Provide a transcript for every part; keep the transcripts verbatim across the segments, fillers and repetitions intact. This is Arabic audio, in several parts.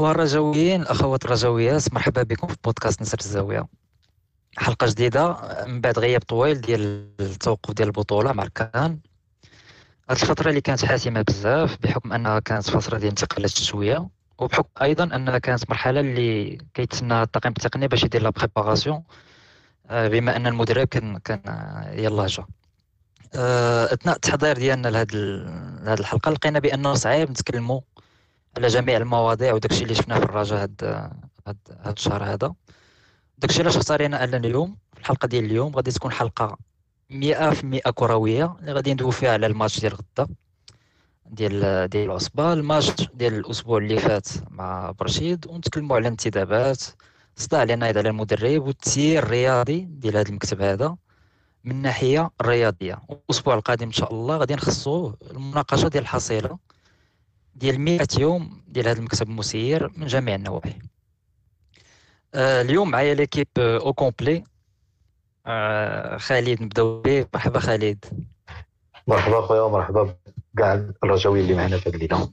الإخوة الرجويين الأخوات الرجويات، مرحبا بكم في بودكاست نسر الزاوية. حلقة جديدة من بعد غياب طويل ديال التوقف ديال البطولة مع الكان. هاد الفترة اللي كانت حاسمة بزاف بحكم أنها كانت فترة ديال انتقالات شوية، وبحكم أيضا أنها كانت مرحلة اللي كيتسنى الطاقم التقني باش يدير لا بريباراسيون، بما أن المدرب كان كان يلاه جا. آه، أثناء التحضير ديالنا لهاد ال- لهاد الحلقة لقينا بأنه صعيب نتكلموا على جميع المواضيع وداكشي اللي شفناه في الرجاء هاد هاد هاد الشهر هذا. داكشي علاش اختارينا اننا اليوم في الحلقه ديال اليوم غادي تكون حلقه مئة في المئة كرويه، اللي غادي ندوي فيها على الماتش ديال غدا ديال ديال العصبه، الماتش ديال الاسبوع اللي فات مع برشيد، ونتكلموا على الانتدابات، صداع اللي نايض على المدرب والتسيير الرياضي ديال هذا المكتب هذا من الناحيه الرياضيه. والاسبوع القادم ان شاء الله غادي نخصوه المناقشه ديال الحصيله ديال مئة يوم ديال هذا المكتب المسير من جميع النواحي. آه، اليوم معايا ليكيب آه، او كومبلي. آه، خالد نبداو به. مرحبا خالد. مرحبا خويا، مرحبا بكاع الرجاويين اللي معنا في هذه الليله.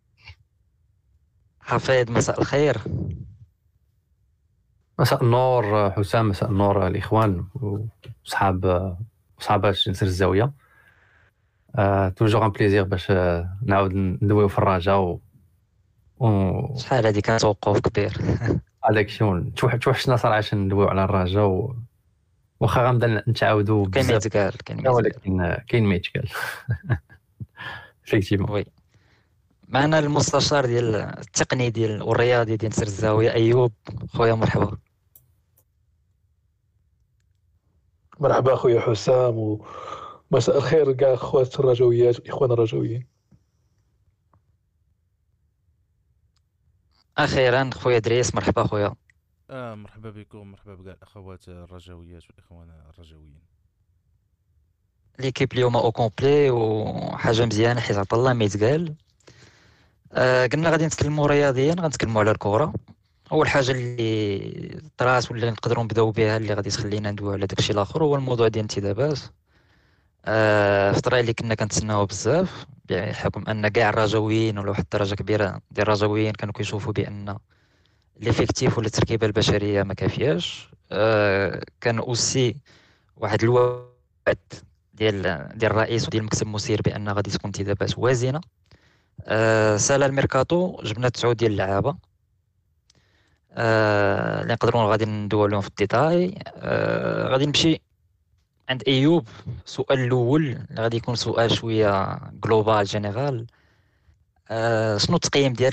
حفيظ مساء الخير. مساء النور حسام، مساء النور الإخوان وصحاب صحابات نسر الزاوية. آه، توجور ان بليزير باش آه، نعاود ندويو في الرجاء و و شحال هادي كان توقف كبير. هذاك الشيء توح توحشنا صراحة ندويو على الرجاء و... واخا غنبدا نتعاودوا كاين ما بزاف، يتقال كاين ما يتقال. ولكن آه، كاين ما يتقال. فيكتيفمون. وي، معنا المستشار ديال التقني ديال والرياضي ديال نسر الزاويه ايوب. خويا مرحبا. مرحبا خويا حسام، ومساء الخير كاع اخوات الرجويات والاخوان الرجويين. اخيرا خويا دريس. مرحبا خويا. آه مرحبا بكم، مرحبا بكاع الاخوات الرجويات والاخوان الرجويين. ليكيب اليوم او كومبلي وحاجه مزيانه حيت عطا الله ما يتقال. آه، قلنا غادي نتكلموا رياضيا، غنتكلموا على الكره. اول حاجه اللي طرات واللي نقدروا نبداو بها اللي غادي تخلينا ندويو على داكشي الاخر هو الموضوع ديال الانتدابات. آه، الفتره اللي كنا كنتسناوها بزاف بحكم ان كاع الرجاويين ولا واحد الدرجه كبيره ديال الرجاويين كانوا كيشوفوا بان ليفيكتيف ولا التركيبه البشريه ما كافياش. آه، كان اوسي واحد الوعد ديال ديال الرئيس وديال المكتب المسير بان غادي تكون انتدابات وازنه. آه، سالا الميركاتو جبنا تسعود ديال اللعابه آه، اللي نقدروا غادي ندويو عليهم في الديتاي. آه، غادي نمشي عند ايوب. السؤال الاول اللي غادي يكون سؤال شويه جلوبال جينيرال. آه، شنو التقييم ديالك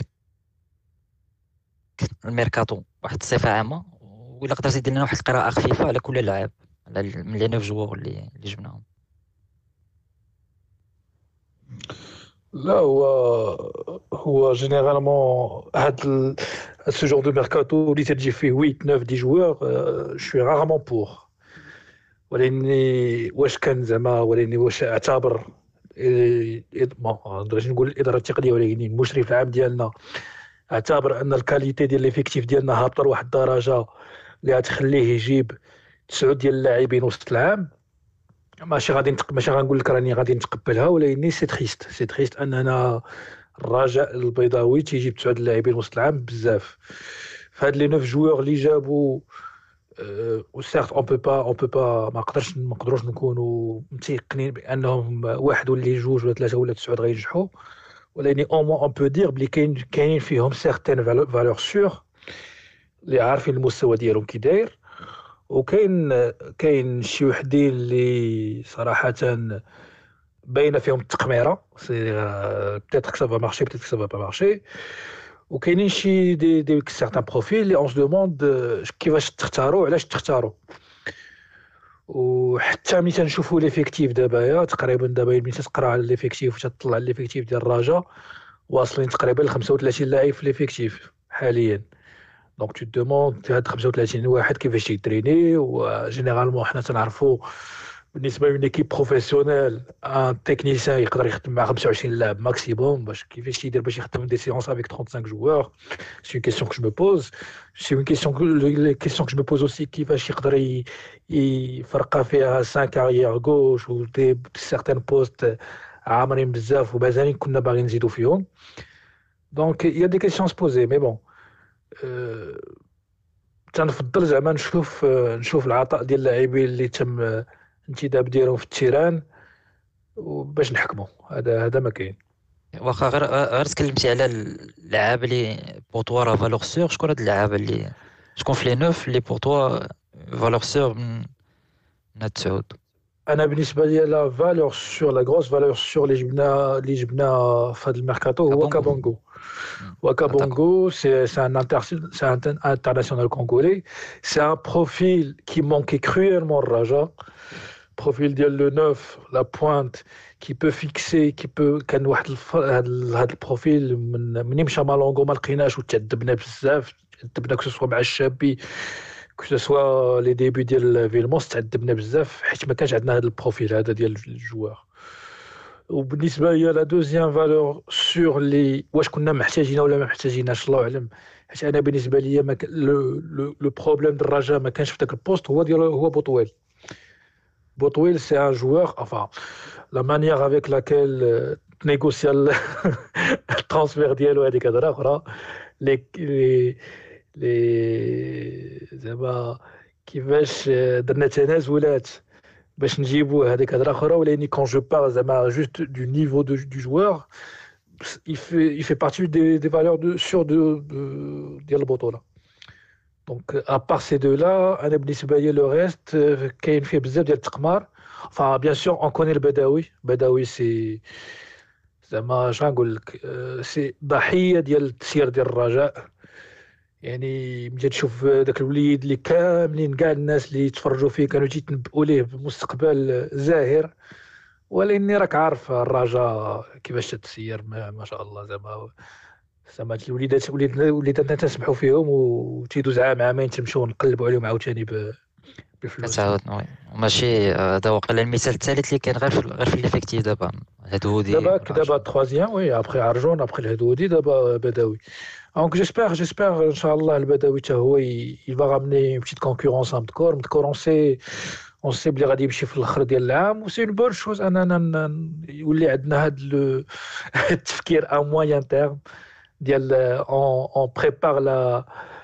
الميركاتو واحد الصفه عامه، ولا قدرتي دير لنا واحد القراءه خفيفه على كل لاعب على ال- من لي نوف جوور اللي اللي جبناهم. لا، هو هو جينيرالمون هاد سو جور دو ميركاتو اللي تجي فيه ثمانية تسعة عشرة جوار، شوي رارمون بور. ولاني واش كان زعما ولاني واش اعتبر إيه، إيه، ما نقدرش نقول الاداره التقنيه، ولكن المشرف العام ديالنا اعتبر ان الكاليتي ديال ليفيكتيف ديالنا هابطه لواحد الدرجه اللي غتخليه يجيب تسعه ديال اللاعبين وسط العام. ماشي غادي نتق... ماشي غنقول لك راني غادي نتقبلها، ولكن سي تريست سي تريست اننا الرجاء البيضاوي تيجيب تسعه اللاعبين وسط العام بزاف. فهاد لي نوف جوار اللي جابوا، و سيرت اون بو با اون بو با ما نقدرش ما نقدروش نكونوا متيقنين بانهم واحد ولا جوج ولا ثلاثه ولا تسعه غينجحوا، ولكن او موا اون بو دير بلي كاين كاينين فيهم سيغتين فالور سور اللي عارفين المستوى ديالهم كي داير. وكاين كاين شي وحدين اللي صراحه باينه فيهم التقميره، سي بيتيتر كو سافا مارشي بيتيتر كو سافا با مارشي. وكاينين شي دي دي سيغتان بروفيل اللي اون سو دوموند كيفاش تختاروا، علاش تختاروا. وحتى ملي تنشوفوا ليفيكتيف دابا يا تقريبا دابا ملي تقرا على ليفيكتيف وتطلع ليفيكتيف ديال الرجاء واصلين تقريبا ل خمسة وثلاثين لاعب في ليفيكتيف حاليا. دونك تو دوموند هاد خمسة وثلاثين واحد كيفاش يتريني. وجينيرالمون حنا تنعرفوا بالنسبه ليكيب بروفيسيونيل ان تكنيسيان يقدر يخدم مع خمسة وعشرين لاعب ماكسيموم. باش كيفاش يدير باش يخدم دي سيونس افيك خمسة وثلاثين جوار؟ سي اون كيسيون كو جو مو بوز. سي اون كيسيون لي كيسيون كو جو مو بوز اوسي كيفاش يقدر يفرقا فيها خمسة اريير غوش و دي سيغتان بوست عامرين بزاف ومازالين كنا باغيين نزيدو فيهم. دونك يا دي كيسيون سبوزي مي بون أه تنفضل زعما نشوف أه نشوف العطاء ديال اللاعبين اللي تم أه انتداب ديالهم في التيران وباش نحكموا. هذا هذا ما كاين. واخا غير غير تكلمتي على اللعابه اللي بوطوا راه فالور سور، شكون هاد اللعابه اللي شكون في لي نوف اللي بوطوا فالور سور من من هاد التعود؟ انا بالنسبه لي لا فالور سور لا غروس فالور سور اللي جبنا اللي جبنا في هذا الميركاتو هو كابونغو. كابونغو. وكابونغو سي سي ان انتر سي ان انترناسيونال كونغولي. سي ان بروفيل كي مونكي كرويلمون الرجاء. بروفيل ديال لو نوف لا بوينت كي بو فيكسي كي بو كان واحد هذا البروفيل من مني مشى مالونغو ما لقيناش وتعذبنا بزاف. تعذبنا كسوا مع الشابي كسوا لي ديبي ديال فيلموس تعذبنا بزاف حيت ما كانش عندنا هذا البروفيل هذا ديال الجوار. وبالنسبه لي لا دوزيام فالور سور لي واش كنا محتاجين ولا ما محتاجيناش الله اعلم. حيت انا بالنسبه لي ما لو لو بروبليم ديال الرجاء ما كانش في ذاك البوست هو ديال هو بوطويل. بوطويل سي ان جوار enfin la manière avec laquelle نيغوسيا الترانسفير ديالو هذيك هضره اخرى لي لي زعما كيفاش درنا تنازلات باش نجيبوا هذيك هضره اخرى. ولكن كون جو بار زعما جوست دو نيفو دو دو جوار il fait il fait partie des des valeurs de sur de ديال البطوله. دونك ابار سي دو لا انا بالنسبه لي لو ريست كاين فيه بزاف ديال التقمار. فا بيان سور اون كوني البدوي. بدوي سي زعما اش غنقول لك سي ضحيه ديال التسيير ديال الرجاء. يعني ملي تشوف داك الوليد اللي كاملين كاع الناس اللي تفرجوا فيه كانوا تيتنبؤوا ليه بمستقبل زاهر. ولكني راك عارف الرجاء كيفاش تتسير ما, ما شاء الله. زعما زعما الوليدات وليداتنا تنسمحوا فيهم وتيدوز عام عامين تمشيو نقلبوا عليهم عاوتاني بفلوس. تعاود ماشي هذا وقيلا المثال الثالث اللي كاين غير في غير في الافيكتيف دابا هدودي دابا دابا تروازيام وي ابخي عرجون ابخي الهدودي دابا بدوي. دونك جيسبر جيسبر ان شاء الله البدوي حتى هو يفا غامني بتيت كونكورونس ام دكور مدكور اون سي اون سي بلي غادي يمشي في الاخر ديال العام. وسي اون بون شوز اننا يولي عندنا هذا التفكير ا موين تيرم ديال اون اون بريبار لا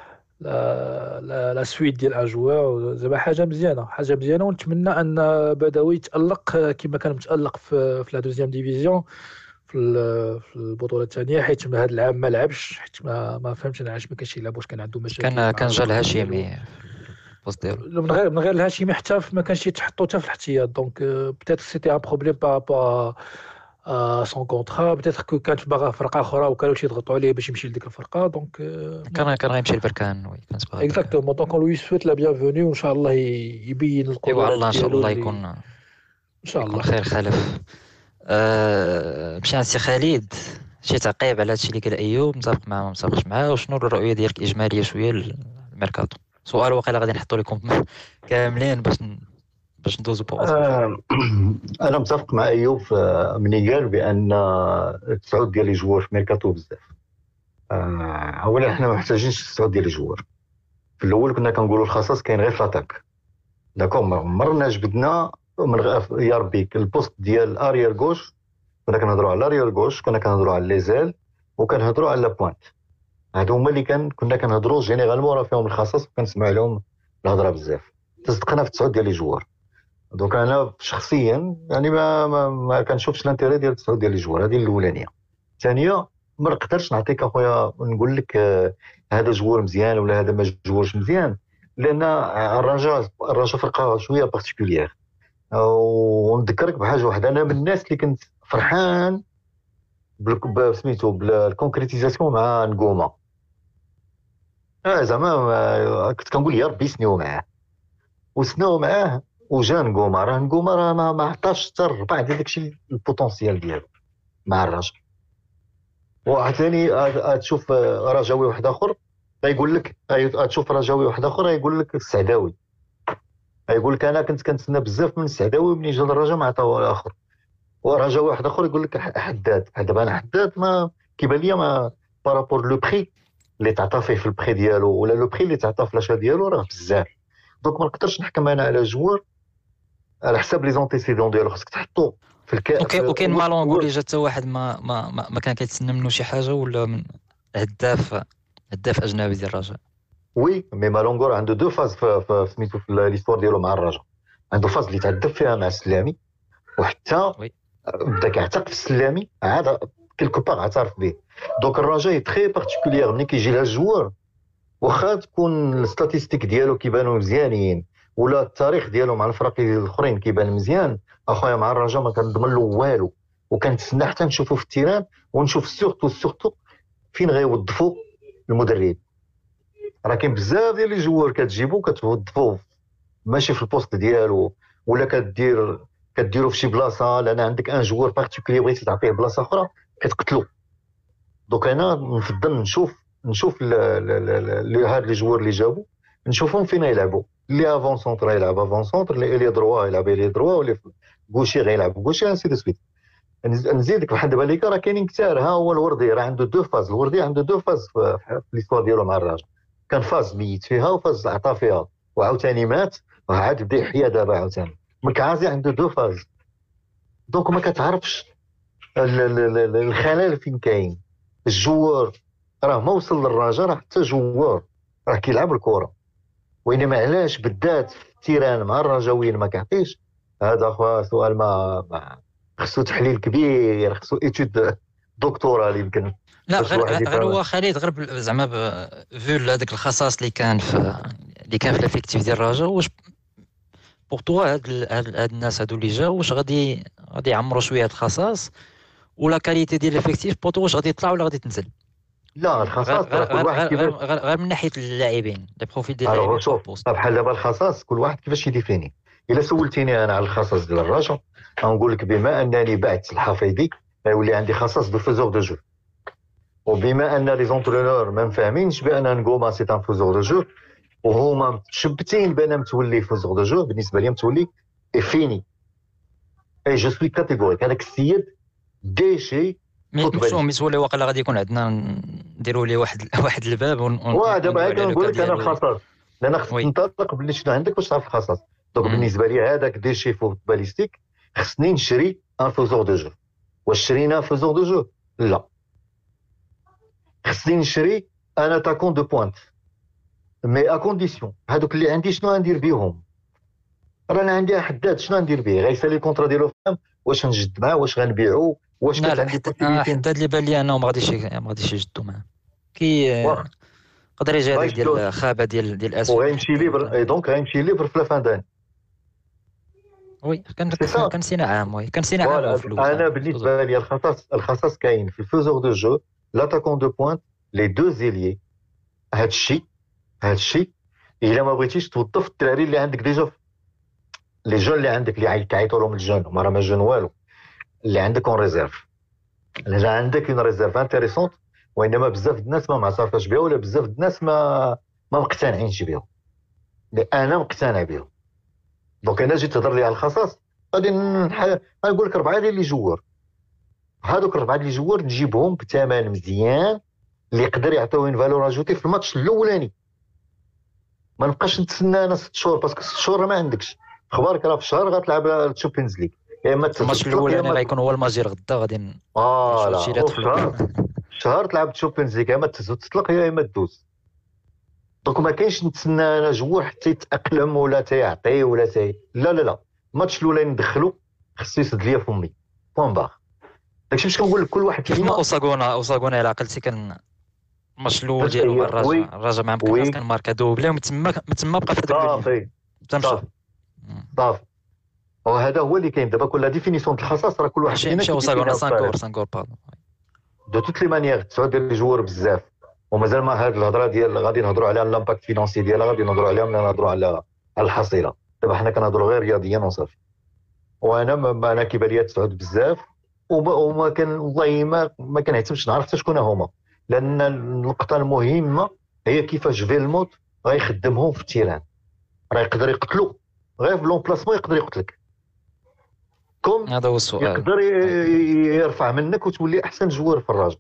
لا لا لا سويت ديال ان جوار. زعما حاجه مزيانه حاجه مزيانه ونتمنى ان بدوي يتالق كما كان متالق في في لا دوزيام ديفيزيون في في البطوله الثانيه. حيت هذا العام ما لعبش حيت ما ما فهمتش انا علاش ما كانش يلعب. واش كان عنده مشاكل كان كان جا الهاشمي البوست ديالو من غير من غير الهاشمي حتى ما كانش يتحطوا حتى في الاحتياط. دونك بيتيت سيتي ان بروبليم بارابور ا سون كونطرا. بيتيت كو كانت باغا فرقه اخرى وكانوا تيضغطوا عليه باش يمشي لديك الفرقه. دونك كان كان غيمشي لبركان. وي كانت باغا اكزاكتومون. دونك لوي سويت لا بيانفوني وان شاء الله يبين القدرات ايوا الله ان شاء الله يكون ان شاء الله خير خلف. أه مشي عند سي خالد شي تعقيب على هادشي اللي قال ايوب متفق معاه ما متفقش معاه وشنو الرؤيه ديالك الاجماليه شويه للميركاتو؟ سؤال واقيلا غادي نحطوا لكم كاملين باش باش ندوزو بوغ. آه انا متفق مع ايوب ملي قال بان التسعود ديال لي جوار في ميركاتو بزاف. آه اولا حنا ما محتاجينش التسعود ديال لي جوار. في الاول كنا كنقولوا الخصاص كاين غير في لاطاك داكور. ما عمرنا جبدنا من غ... يا ربي البوست ديال الاريير غوش كنا كنهضروا على الاريير غوش كنا كنهضروا على ليزيل وكنهضروا على لا بوينت. هادو هما اللي كان كنا كنهضروا جينيرالمون راه فيهم الخصاص وكنسمع لهم الهضره بزاف. تصدقنا في التسعود ديال لي جوار. دونك انا شخصيا يعني ما ما, ما كنشوفش الانتيري ديال التسعود ديال لي جوار. هذه الاولانيه. الثانيه ما نقدرش نعطيك اخويا نقول لك آه هذا جوار مزيان ولا هذا ما جوارش مزيان لان الرجاء الرجاء فرقه شويه بارتيكولير. ونذكرك بحاجه واحده. انا من الناس اللي كنت فرحان بسميتو بالكونكريتيزاسيون مع نقومه. اه زعما كنت كنقول يا ربي سنيو معاه وسناو معاه وجا نقومه. راه نقومه راه ما, ما عطاش حتى الربع ديال داكشي البوتونسيال ديالو مع الرجل. وعطاني تشوف رجاوي واحد اخر غيقول لك تشوف رجاوي واحد اخر غيقول لك السعداوي يقول لك انا كنت كنتسنى بزاف من السعداوي ملي جا الرجاء ما عطاو الاخر. ورجاء واحد اخر يقول لك حداد. دابا انا حداد ما كيبان لي ما بارابور لو بري اللي تعطى فيه في البري ديالو ولا لو بري اللي تعطى في لاشا ديالو راه بزاف. دونك ما نقدرش نحكم انا على جوار على حساب لي زونتيسيدون ديالو. خصك تحطو في الكاس. اوكي وكاين مالون نقول لي جا حتى واحد ما ما ما كان كيتسنى منه شي حاجه ولا من هداف هداف اجنبي ديال الرجاء. وي مي مالونغور عنده دو فاز في سميتو في ليستوار ديالو مع الرجاء. عنده فاز اللي تعذب فيها مع السلامي، وحتى وي. بدا كيعتق في السلامي عاد كيلكو باغ اعترف به. دونك الرجاء تري بارتيكولير ملي كيجي لها الجوار، واخا تكون الستاتيستيك ديالو كيبانوا مزيانين ولا التاريخ ديالو مع الفرق الاخرين كيبان مزيان، اخويا مع الرجاء ما كنضمن له والو، وكنتسنى حتى نشوفو في التيران ونشوف سورتو سورتو فين غيوظفوا المدرب. راه كاين بزاف ديال لي جوار كتجيبو كتوظفوه ماشي في البوست ديالو، ولا كدير كديرو في شي بلاصه لان عندك ان جوار بارتيكولي بغيتي تعطيه بلاصه اخرى كتقتلو. دونك انا نفضل نشوف نشوف لي هاد لي جوار اللي جابو نشوفهم فين يلعبوا. اللي افون سونتر يلعب افون سونتر، اللي لي دروا يلعب لي دروا، واللي غوشي غيلعب غوشي، انسي دو سويت. نزيدك بحال دابا ليك راه كاينين كثار. ها هو الوردي راه عنده دو فاز، الوردي عنده دو فاز في ليستوار ديالو مع الرجاء. كان فاز ميت فيها وفاز عطا فيها وعاوتاني مات وعاد بدا يحيا دابا عاوتاني. مكعازي عنده دو فاز. دونك ما كتعرفش الخلل فين كاين. الجوار راه ما وصل للرجاء راه حتى جوار راه كيلعب الكره، وانما علاش بالذات في التيران مع الرجاويين ما كيعطيش؟ هذا اخويا سؤال ما, ما خصو تحليل كبير، خصو ايتود دكتوراه يمكن. لا غير غير هو خالد غير ب- زعما ب- فيو هذاك الخصاص اللي كان في اللي كان في الافيكتيف ديال الرجاء، واش بوغ توا هاد ال- هاد هاد الناس هادو اللي جاو واش غادي غادي يعمروا شويه هاد الخصاص، ولا كاليتي ديال الافيكتيف بوغ توا واش غادي يطلع ولا غادي تنزل؟ لا غير الخصاص غير راه كل غير واحد غير, كيفاش. غير, غير من ناحيه اللاعبين لي بروفيل ديال الوغ اللاعبين شوف بار بوست. بحال دابا الخصاص كل واحد كيفاش يديفيني. الا سولتيني انا على الخصاص ديال الرجاء غنقول لك بما انني بعت الحفيظي غيولي عندي خصاص دو فوزور دو جو، وبما ان لي زونترونور ما مفاهمينش بان نغوما سي ان فوزور دو جو وهما متشبتين بان متولي فوزور دو جو، بالنسبه لي متولي اي فيني اي جو سوي كاتيغوريك. هذاك السيد ديشي مي شو ميسولي واقيلا غادي يكون عندنا نديروا ليه واحد واحد الباب ون واه دابا هاك نقول لك انا الخصاص لان خصك وي. تنطلق باللي شنو عندك باش تعرف الخصاص. دونك مم. بالنسبه لي هذاك ديشي فوتباليستيك خصني نشري ان فوزور دو جو. واش شرينا فوزور دو جو؟ لا. خصني نشري ان اتاكون دو بوينت مي ا كونديسيون هذوك اللي عندي شنو غندير بهم. رانا عندي حداد شنو ندير به؟ غيسالي الكونترا ديالو فهم، واش نجد معاه، واش غنبيعو، واش لا كانت لا عندي حتى possibility. حداد اللي بان لي انه ما غاديش ما غاديش يجدوا معاه كي واخا. قدر يجي هذاك غيشدوه. ديال خابه ديال ديال اسود وغيمشي ليبر اي دونك غيمشي ليبر في لافان داني. وي كان سي صا. كان سينا عام وي كان سينا عام فوالا وفلوس انا بالنسبه لي الخصاص الخصاص كاين في الفوزور دو جو، لاتاكون دو بوينت، لي دو زيليي. هاد الشيء هاد الشيء الا ما بغيتيش توظف الدراري اللي عندك ديجا، لي جون اللي عندك اللي كيعيطوا لهم الجون وما راه ما جون والو، اللي عندك اون ريزيرف. الا عندك اون ريزيرف انتريسونت وانما بزاف الناس ما معترفاش بها ولا بزاف الناس ما ما مقتنعينش بها، انا مقتنع بها. دونك انا جيت تهضر لي على الخصاص غادي نح- غنقول لك اربعه ديال لي جوار. هادوك الاربعه ديال لي جوار نجيبهم بثمن مزيان اللي يقدر يعطيو اون فالور اجوتي في الماتش الاولاني. ما نبقاش نتسنى انا ست شهور باسكو ست شهور ما عندكش اخبارك. راه في الشهر غتلعب الشامبيونز ليغ، يا اما الماتش الاولاني غيكون هو الماجير غدا غادي ن- اه لا نشوف شي رات في الشهر شهر تلعب الشامبيونز ليغ، يا اما تهز وتطلق يا اما تدوز. دونك ما كاينش نتسنى انا جوار حتى يتاقلم ولا تيعطي ولا تي لا لا لا. الماتش الاولاني ندخلو خصو يسد ليا فمي بوان باغ. داكشي باش كنقول لك كل واحد كيف ما فينا اوساغونا اوساغونا الى عقلتي كان الماتش الاول باش ديالو مع هي- وي. الرجاء الرجاء مع وي. مكناس كان ماركا دوبلي ومن تما من تما بقى في هذاك الليل صافي تمشى صافي صافي. وهذا هو اللي كاين دابا. كل ديفينيسيون ديال الخصاص راه كل واحد ماشي فينا ماشي اوساغونا كيديفينيها سانكور بطريقة. سانكور باردون دو توت لي مانيير تسعود ديال لي جوار بزاف ومازال ما هاد الهضره ديال غادي نهضروا على لامباكت فينانسي ديالها غادي نهضروا عليها ملي نهضروا على على الحصيله. دابا حنا كنهضروا غير رياضيا وصافي. وانا ما انا كيبان لي تسعود بزاف وما, وما كان والله ما ما كنهتمش نعرف حتى شكون هما، لان النقطه المهمه هي كيفاش فيلموت غيخدمهم في التيران. راه يقدر يقتلو غير في لون بلاسمون، يقدر يقتلك كوم هذا هو السؤال. يقدر ي- يرفع منك وتولي احسن جوار في الراجل.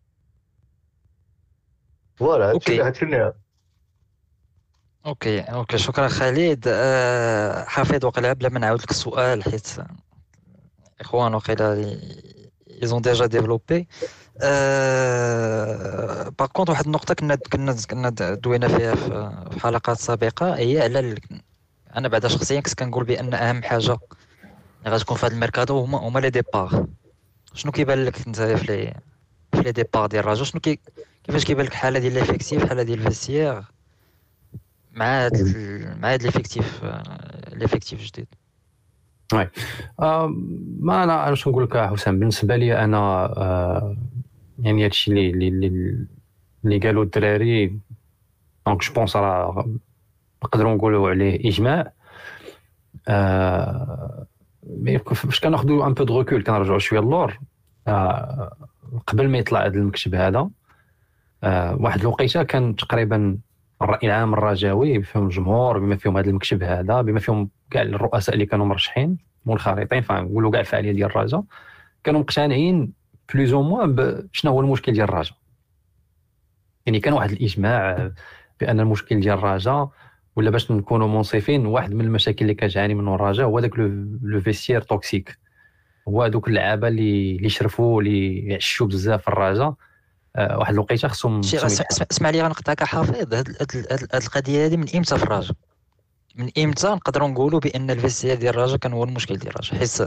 فوالا هادشي أوكي. هادشي اللي اوكي اوكي شكرا خالد. أه حفيظ وقيلا بلا ما نعاود لك السؤال حيت اخوان وقيلا ils ont déjà développé. Euh, par كونت واحد النقطه كنا كنا كنا دوينا فيها في حلقات سابقه، هي على ال... انا بعدا شخصيا كنت كنقول بان اهم حاجه اللي غتكون في هذا الميركاتو هما هما لي ديبار. شنو كيبان لك انت في لي في لي ديبار ديال الرجاء؟ شنو كي كيفاش كيبان لك الحاله ديال ليفيكتيف، الحاله ديال الفيستير مع هاد ال... مع هاد ليفيكتيف ليفيكتيف جديد؟ وي آه ما انا اش نقول لك حسام، بالنسبه لي انا آه يعني هادشي اللي اللي اللي قالوا الدراري دونك جو بونس راه نقدروا نقولوا عليه اجماع. آه مي فاش كناخذوا ان بو دو ريكول كنرجعوا شويه للور. آه قبل ما يطلع هذا المكتب هذا آه واحد الوقيته كان تقريبا الراي العام الرجاوي بفهم الجمهور بما فيهم هذا المكتب هذا بما فيهم كاع الرؤساء اللي كانوا مرشحين منخرطين فنقولوا كاع الفعاليه ديال الرجاء كانوا مقتنعين بلوز او موان بشنو هو المشكل ديال الرجاء. يعني كان واحد الاجماع بان المشكل ديال الرجاء ولا باش نكونوا منصفين واحد من المشاكل اللي كتعاني منه الرجاء هو داك لو فيستير توكسيك، هو دوك اللعابه اللي اللي شرفوا اللي يعشوا بزاف في الرجاء. أه واحد الوقيته خصهم اسمع لي غنقطعك حافظ. هاد هاد القضيه هذه من امتى في الرجاء؟ من امتى نقدروا نقولوا بان الفيستير ديال الرجاء كان هو المشكل ديال الرجاء؟ حيت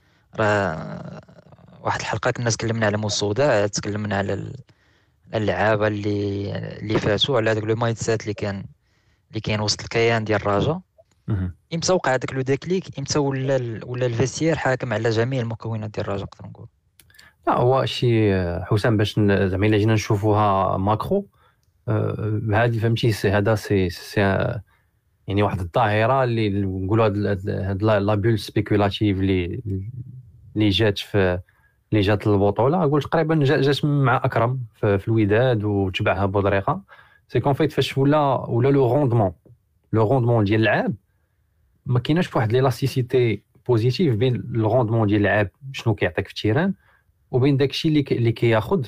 راه واحد الحلقه كنا تكلمنا على مسودة، تكلمنا على اللعابه اللي اللي فاتوا على داك لو مايند سيت اللي كان اللي كاين وسط الكيان ديال الرجاء. امتى وقع داك لو ديكليك؟ امتى ولا ولا الفيستير حاكم على جميع المكونات ديال الرجاء نقدر نقول؟ لا هو شي حسام باش زعما الا جينا نشوفوها ماكرو هذه فهمتي هذا سي سي يعني واحد الظاهره اللي نقولوا هاد لا بول سبيكولاتيف اللي اللي جات في اللي جات البطوله نقول تقريبا جات مع اكرم في, في الوداد وتبعها بودريقه. سي كون فايت فاش ولا ولا لو روندمون لو روندمون ديال اللعاب ما كايناش واحد ليلاستيسيتي بوزيتيف بين لو روندمون ديال اللعاب شنو كيعطيك في التيران وبين داكشي اللي اللي كياخذ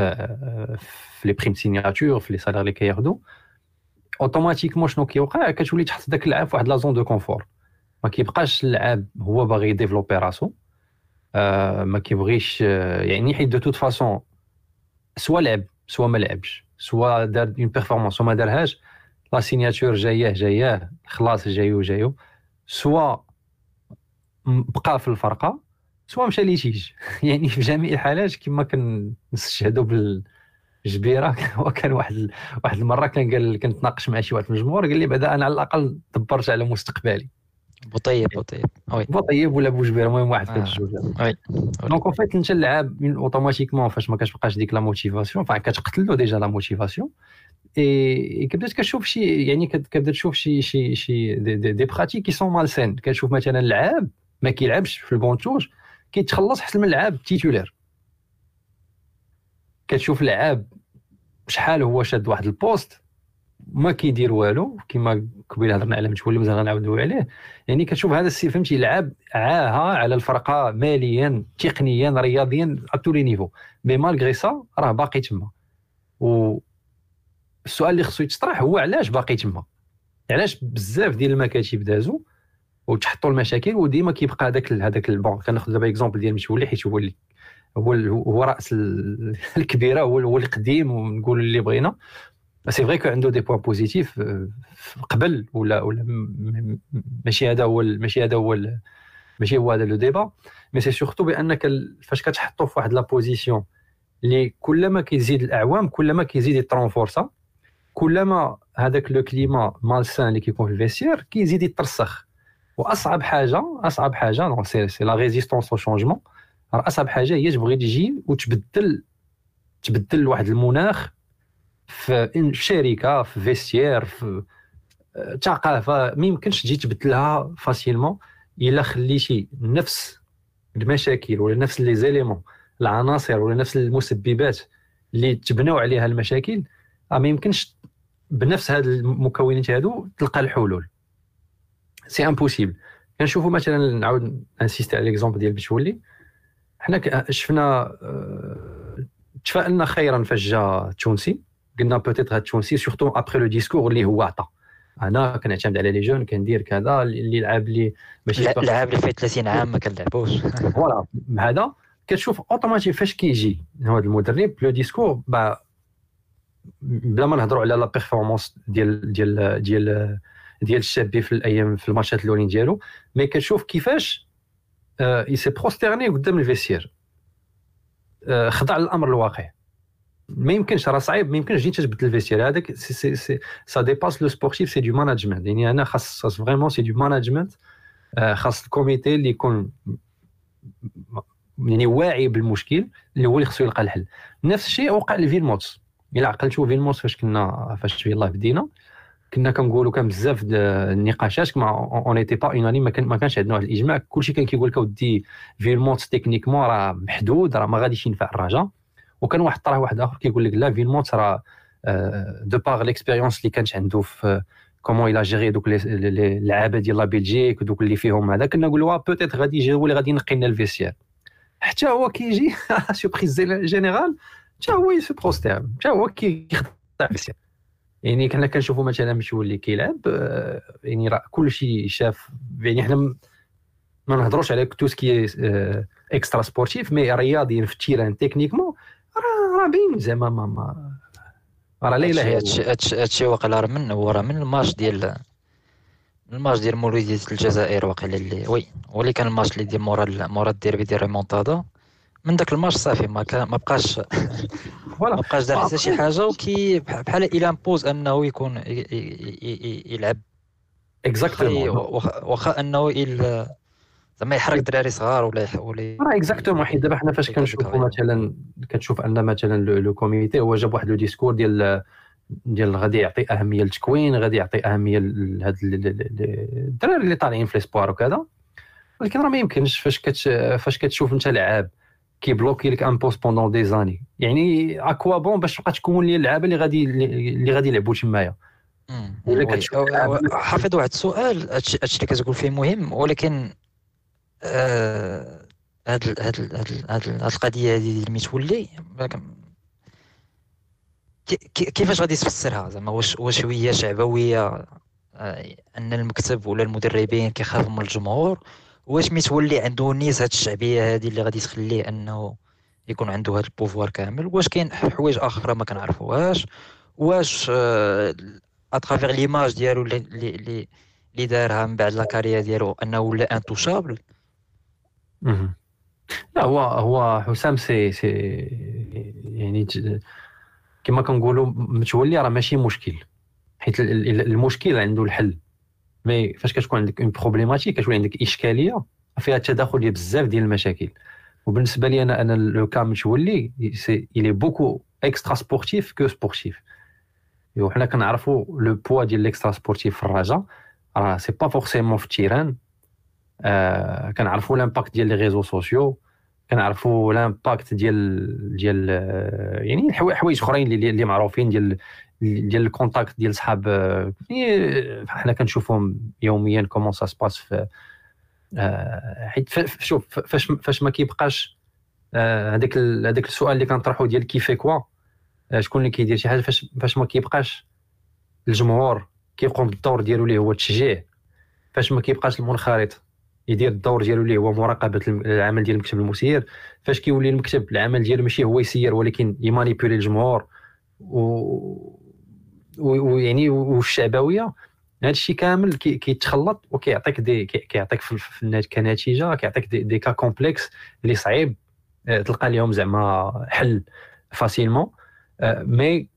في لي بريم سيناتور في لي سالير اللي كياخذوا اوتوماتيكمون شنو كيوقع كتولي تحط داك اللعاب في واحد لا زون دو كونفور. ما كيبقاش اللعاب هو باغي ديفلوبي راسو آه ما كيبغيش آه يعني حيت دو توت فاصون سوا لعب سوا ما لعبش سوا دار اون بيرفورمانس وما دارهاش لا سيناتور جايه جايه خلاص جايو جايو سوا بقى في الفرقه سوا مشى ليتيج. يعني في جميع الحالات كما كنستشهدوا بالجبيره وكان واحد واحد المره كان قال كنتناقش مع شي واحد في الجمهور قال لي بعدا انا على الاقل دبرت على مستقبلي بوطيب بوطيب وي بوطيب ولا بوجبير المهم واحد في الجوج. وي دونك اون فيت انت اللعاب اوتوماتيكمون فاش ما كتبقاش ديك لا موتيفاسيون فاين كتقتل له ديجا لا موتيفاسيون اي كبدات كتشوف شي يعني كتبدا تشوف شي شي شي دي, دي, دي براتيك كي سون مالسين. كتشوف مثلا اللعاب ما كيلعبش في البونتوج كيتخلص حتى من اللعاب تيتولير. كتشوف اللعاب شحال هو شاد واحد البوست ما كيدير والو كما قبيله هضرنا على متولي مازال غنعاودوا عليه. يعني كتشوف هذا السي فهمتي لعب عاها على الفرقه ماليا تقنيا رياضيا ا لي نيفو مي مالغري سا راه باقي تما. و السؤال اللي خصو يتطرح هو علاش باقي تما؟ علاش بزاف ديال المكاتب دازوا وتحطوا المشاكل وديما كيبقى هذاك هذاك البون. كناخذ دابا اكزومبل ديال متولي حيت هو اللي هو هو راس الكبيره هو القديم ونقول اللي بغينا. سي فري كو عنده دي بوين بوزيتيف قبل ولا ولا ماشي هذا هو ماشي هذا هو ماشي هو هذا لو ديبا. مي سي سورتو بانك فاش كتحطو في واحد لا بوزيسيون اللي كلما كيزيد الاعوام كلما كيزيد يترونفورسا كلما هذاك لو كليما مالسان اللي كيكون في الفيستير كيزيد يترسخ. واصعب حاجه اصعب حاجه دونك سي سي لا ريزيستونس او شونجمون. اصعب حاجه هي تبغي تجي وتبدل تبدل واحد المناخ في شركه في فيستير في ثقافه ما يمكنش تجي تبدلها فاسيلمون الا خليتي نفس المشاكل ولا نفس لي زيليمون العناصر ولا نفس المسببات اللي تبناو عليها المشاكل ما يمكنش بنفس هاد المكونات هادو تلقى الحلول. سي امبوسيبل. كنشوفوا مثلا نعاود انسيست على ليكزومبل ديال بتولي. حنا شفنا تفائلنا خيرا فاش جا التونسي قلنا بوتيت هاد التونسي سورتو ابري لو ديسكور اللي هو عطى انا كنعتمد على لي جون كندير كذا اللي لعب لي ماشي لعب اللي فيه ثلاثين عام ما كنلعبوش فوالا هذا كتشوف اوتوماتيك فاش كيجي هذا المدرب لو ديسكور با بلا ما نهضروا على لا بيرفورمانس ديال ديال ديال ديال الشابي في الايام في الماتشات الاولين ديالو، مي كتشوف كيفاش اي سي بروستيرني قدام الفيسير، خضع للامر الواقع. ما يمكنش، راه صعيب، ما يمكنش تجي تبدل الفيسير هذاك. سي سي سي سا ديباس لو سبورتيف، سي دو ماناجمنت. يعني انا خاص خاص فريمون سي دو ماناجمنت، خاص الكوميتي اللي يكون يعني واعي بالمشكل اللي هو اللي خصو يلقى الحل. نفس الشيء وقع لفيلموتس. الا عقلتوا فيلموتس فاش كنا فاش يلاه بدينا كنا كنقولوا كان بزاف د النقاشات كما اون ايتي با اونانيم، ما كان ما كانش عندنا واحد الاجماع. كلشي كان كيقول لك ودي فيلموتس تكنيكمون راه محدود، راه ما غاديش ينفع الرجاء. وكان واحد الطرح واحد اخر كيقول لك لا فيلموتس راه دو باغ ليكسبيريونس اللي كانت عنده في كومون إلا جيري دوك اللعابه ديال لا بلجيك ودوك اللي فيهم هذا، كنا نقولوا بوتيت غادي يجي هو اللي غادي ينقي لنا الفيسير. حتى هو كيجي سوربريز جينيرال، حتى هو يسو بروستير، حتى هو كيخدع الفيسير. يعني كنا كنشوفوا مثلا متولي كيلعب، يعني راه كلشي شاف. يعني حنا ما نهضروش على تو سكي اكسترا سبورتيف، مي رياضيين في التيران تكنيكمون راه راه باين زعما ما ما راه لا اله هادشي هادشي هادشي واقع راه من هو راه من الماتش ديال الماتش ديال مولودية الجزائر واقيلا اللي وي واللي كان الماتش اللي ديال مورا مورا الديربي ديال ريمونتادا. من داك الماتش صافي ما كان ما بقاش ما بقاش دار حتى شي حاجه، وكي بحال الى امبوز انه يكون يلعب اكزاكتومون، واخا انه زعما يحرك دراري صغار ولا ولا راه اكزاكتومون. حيت دابا حنا فاش كنشوفوا مثلا كتشوف ان مثلا لو كوميتي هو جاب واحد لو ديسكور ديال ديال غادي يعطي اهميه للتكوين، غادي يعطي اهميه لهاد الدراري اللي طالعين في ليسبوار وكذا. ولكن راه ما يمكنش فاش كتش فاش كتشوف انت لعاب كيبلوكي لك ان بوست بوندون دي زاني، يعني اكوا بون باش تبقى تكون لي اللعابه اللي غادي اللي غادي يلعبوا تمايا. حافظ واحد السؤال، هادشي اللي كتقول فيه مهم، ولكن هاد هاد هاد هاد القضيه هذه ديال متولي كيفاش غادي تفسرها؟ زعما واش واش هي شعبويه ان المكتب ولا المدربين كيخافوا من الجمهور؟ واش متولي عنده نيس هاد الشعبيه هذه اللي غادي تخليه انه يكون عنده هاد البوفوار كامل؟ واش كاين حوايج اخرى ما كنعرفوهاش؟ واش اترافير ليماج ديالو اللي اللي اللي دارها من بعد لا كارير ديالو انه ولا انتوشابل؟ لا هو هو حسام سي سي يعني كما كنقولوا متولي راه ماشي مشكل، حيت المشكل عنده الحل. مي فاش كتكون عندك اون بروبليماتيك، كتولي عندك اشكاليه فيها تداخل ديال بزاف ديال المشاكل. وبالنسبه لي انا انا لو كان متولي سي إلي بوكو اكسترا سبورتيف كو سبورتيف. وحنا كنعرفوا لو بوا ديال الاكسترا سبورتيف في الرجاء راه سي با فورسيمون في التيران. آه كنعرفوا لامباكت ديال لي ريزو سوسيو، كنعرفوا لامباكت ديال ديال يعني حوايج اخرين اللي اللي معروفين ديال ديال الكونتاكت ديال صحاب. حنا كنشوفهم يوميا كومون سا سباس في حيت شوف فاش فاش ما كيبقاش هذاك هذاك السؤال اللي كنطرحو ديال كيفي كوا شكون اللي كيدير شي حاجه، فاش فاش ما كيبقاش الجمهور كيقوم بالدور ديالو اللي هو التشجيع، فاش ما كيبقاش المنخرط يدير الدور ديالو اللي هو مراقبه العمل ديال المكتب المسير، فاش كيولي المكتب العمل ديالو ماشي هو يسير ولكن يمانيبيولي الجمهور و ويعني والشعبويه، هذا الشيء كامل كيتخلط كي وكيعطيك دي كيعطيك في كنتيجه كيعطيك دي, دي كا كومبلكس اللي صعيب تلقى لهم زعما حل فاسيلمون. مي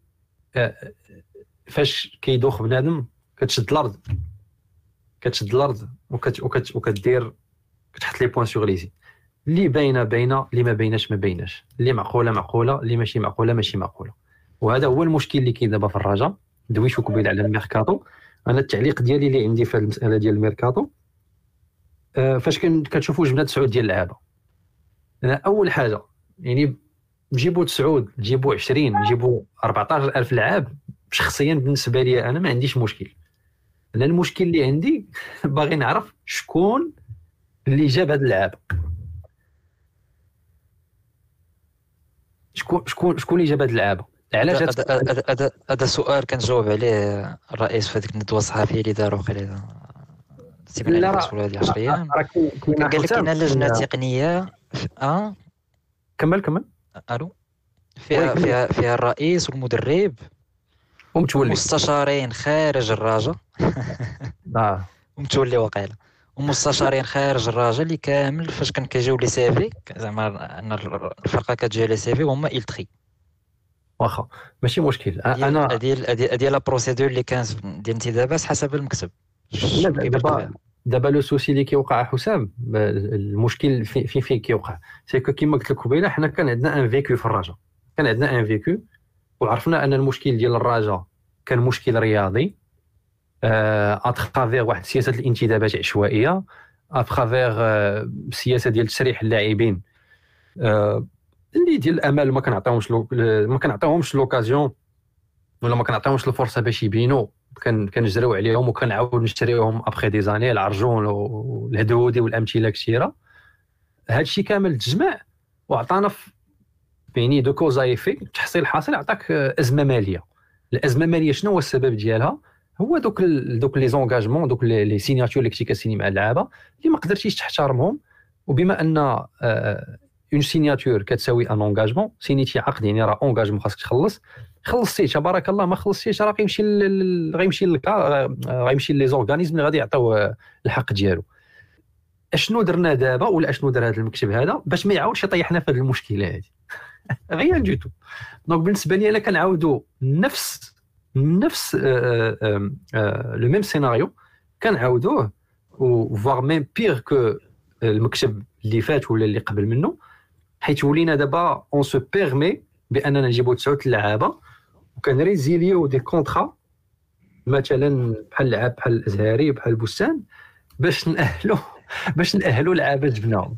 فاش كيدوخ بنادم كتشد الارض كتشد الارض وكت وكت وكدير كتحط لي بوين سور ليزي اللي باينه باينه، اللي ما بايناش ما بايناش، اللي معقوله معقوله، اللي ماشي معقوله ماشي معقوله. وهذا هو المشكل اللي كاين دابا في الرجاء. دويشو قبيل على الميركاتو. انا التعليق ديالي اللي عندي في المساله ديال الميركاتو أه فاش كتشوفوا جبنا تسعود ديال اللعابه، انا اول حاجه يعني نجيبوا تسعود نجيبوا عشرين نجيبوا أربعطاش ألف لاعب، شخصيا بالنسبه لي انا ما عنديش مشكل. انا المشكل اللي عندي باغي نعرف شكون اللي جاب هاد اللعابه، شكون شكون شكون اللي جاب هاد اللعابه، علاش؟ هذا هذا سؤال كنجاوب عليه الرئيس في هذيك الندوه الصحفيه اللي داروا قليلا سيبنا على الرسول هذه عشر ايام. قال لك كاين لجنه تقنيه اه كمل كمل الو فيها فيها فيها الرئيس والمدرب ومتولي مستشارين خارج الرجاء اه ومتولي واقيلا ومستشارين خارج الرجاء اللي كامل فاش كان كيجيو لي سيفي زعما ان الفرقه كتجي لي سيفي هما إلتري. واخا ماشي مشكل. انا هذه هذه لا بروسيدور اللي كانت ديال الانتدابات حسب المكتب. لا دابا دابا لو سوسي اللي كيوقع حسام، المشكل فين فين في كيوقع سي كو كيما قلت لك قبيله، حنا كان عندنا ان فيكو في الرجاء، كان عندنا ان فيكو وعرفنا ان المشكل ديال الرجاء كان مشكل رياضي اترافير واحد سياسه الانتدابات عشوائيه، اترافير سياسه ديال تسريح اللاعبين اللي ديال الامل ما كنعطيهمش ما كنعطيهمش لوكازيون ولا ما كنعطيهمش الفرصه باش يبينوا، كان كنجريو عليهم وكنعاود نشريوهم ابخي دي زاني، العرجون والهدودي والامثله كثيره. هادشي كامل تجمع وعطانا بيني دو كوز ايفي، تحصيل حاصل عطاك ازمه ماليه. الازمه الماليه شنو هو السبب ديالها؟ هو دوك دوك لي زونغاجمون، دوك لي سيناتور اللي كنتي كتسيني مع اللعابه اللي ما قدرتيش تحترمهم. وبما ان اون سيناتور كتساوي ان انغاجمون، سينيتي عقد يعني راه انغاجمون خاصك تخلص، خلصتي تبارك الله، ما خلصتيش راه غيمشي غيمشي غيمشي لي زورغانيزم اللي غادي يعطيو الحق ديالو. اشنو درنا دابا ولا اشنو دار هذا المكتب هذا باش ما يعاودش يطيحنا في هذه المشكله هذه؟ غير جيتو. دونك بالنسبه لي انا كنعاودوا نفس نفس لو ميم سيناريو كنعاودوه، وفوار ميم بيغ كو المكتب اللي فات ولا اللي قبل منه، حيت ولينا دابا اون سو بيرمي باننا نجيبوا تسعه اللعابه وكنريزيليو دي كونطرا مثلا بحال لعاب بحال الازهري بحال بوستان باش ناهلوا باش ناهلوا لعابه جبناهم.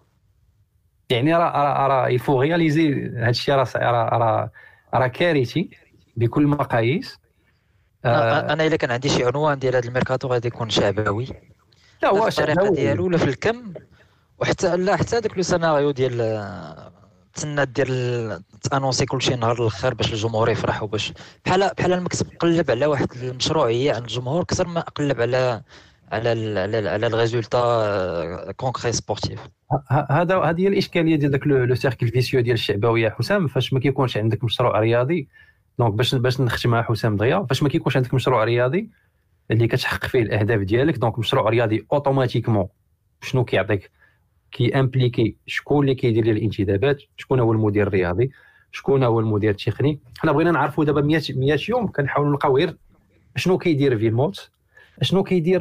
يعني راه راه راه يفو رياليزي هذا الشيء، راه راه راه كارثي بكل المقاييس. آه انا الا كان عندي شي عنوان ديال هذا الميركاتو غادي يكون شعبوي، لا هو الطريقه ديالو ولا في الكم، وحتى لا حتى داك لو سيناريو ديال تسنى دير تانونسي كلشي نهار الاخر باش الجمهور يفرح، وباش بحال بحال المكتب قلب على واحد المشروعيه عند الجمهور اكثر ما قلب على على على على الريزولتا كونكري سبورتيف. هذا هذه هي الاشكاليه ديال داك لو سيركل فيسيو ديال الشعبويه حسام. فاش ما كيكونش عندك مشروع رياضي، دونك باش باش نختم مع حسام دغيا، فاش ما كيكونش عندك مشروع رياضي اللي كتحقق فيه الاهداف ديالك، دونك مشروع رياضي اوتوماتيكمون شنو كيعطيك؟ كي امبليكي شكون اللي كيدير ليه الانتدابات، شكون هو المدير الرياضي، شكون هو المدير التقني. حنا بغينا نعرفوا دابا مية يوم كنحاولوا نلقاو غير شنو كيدير فيلموت، شنو كيدير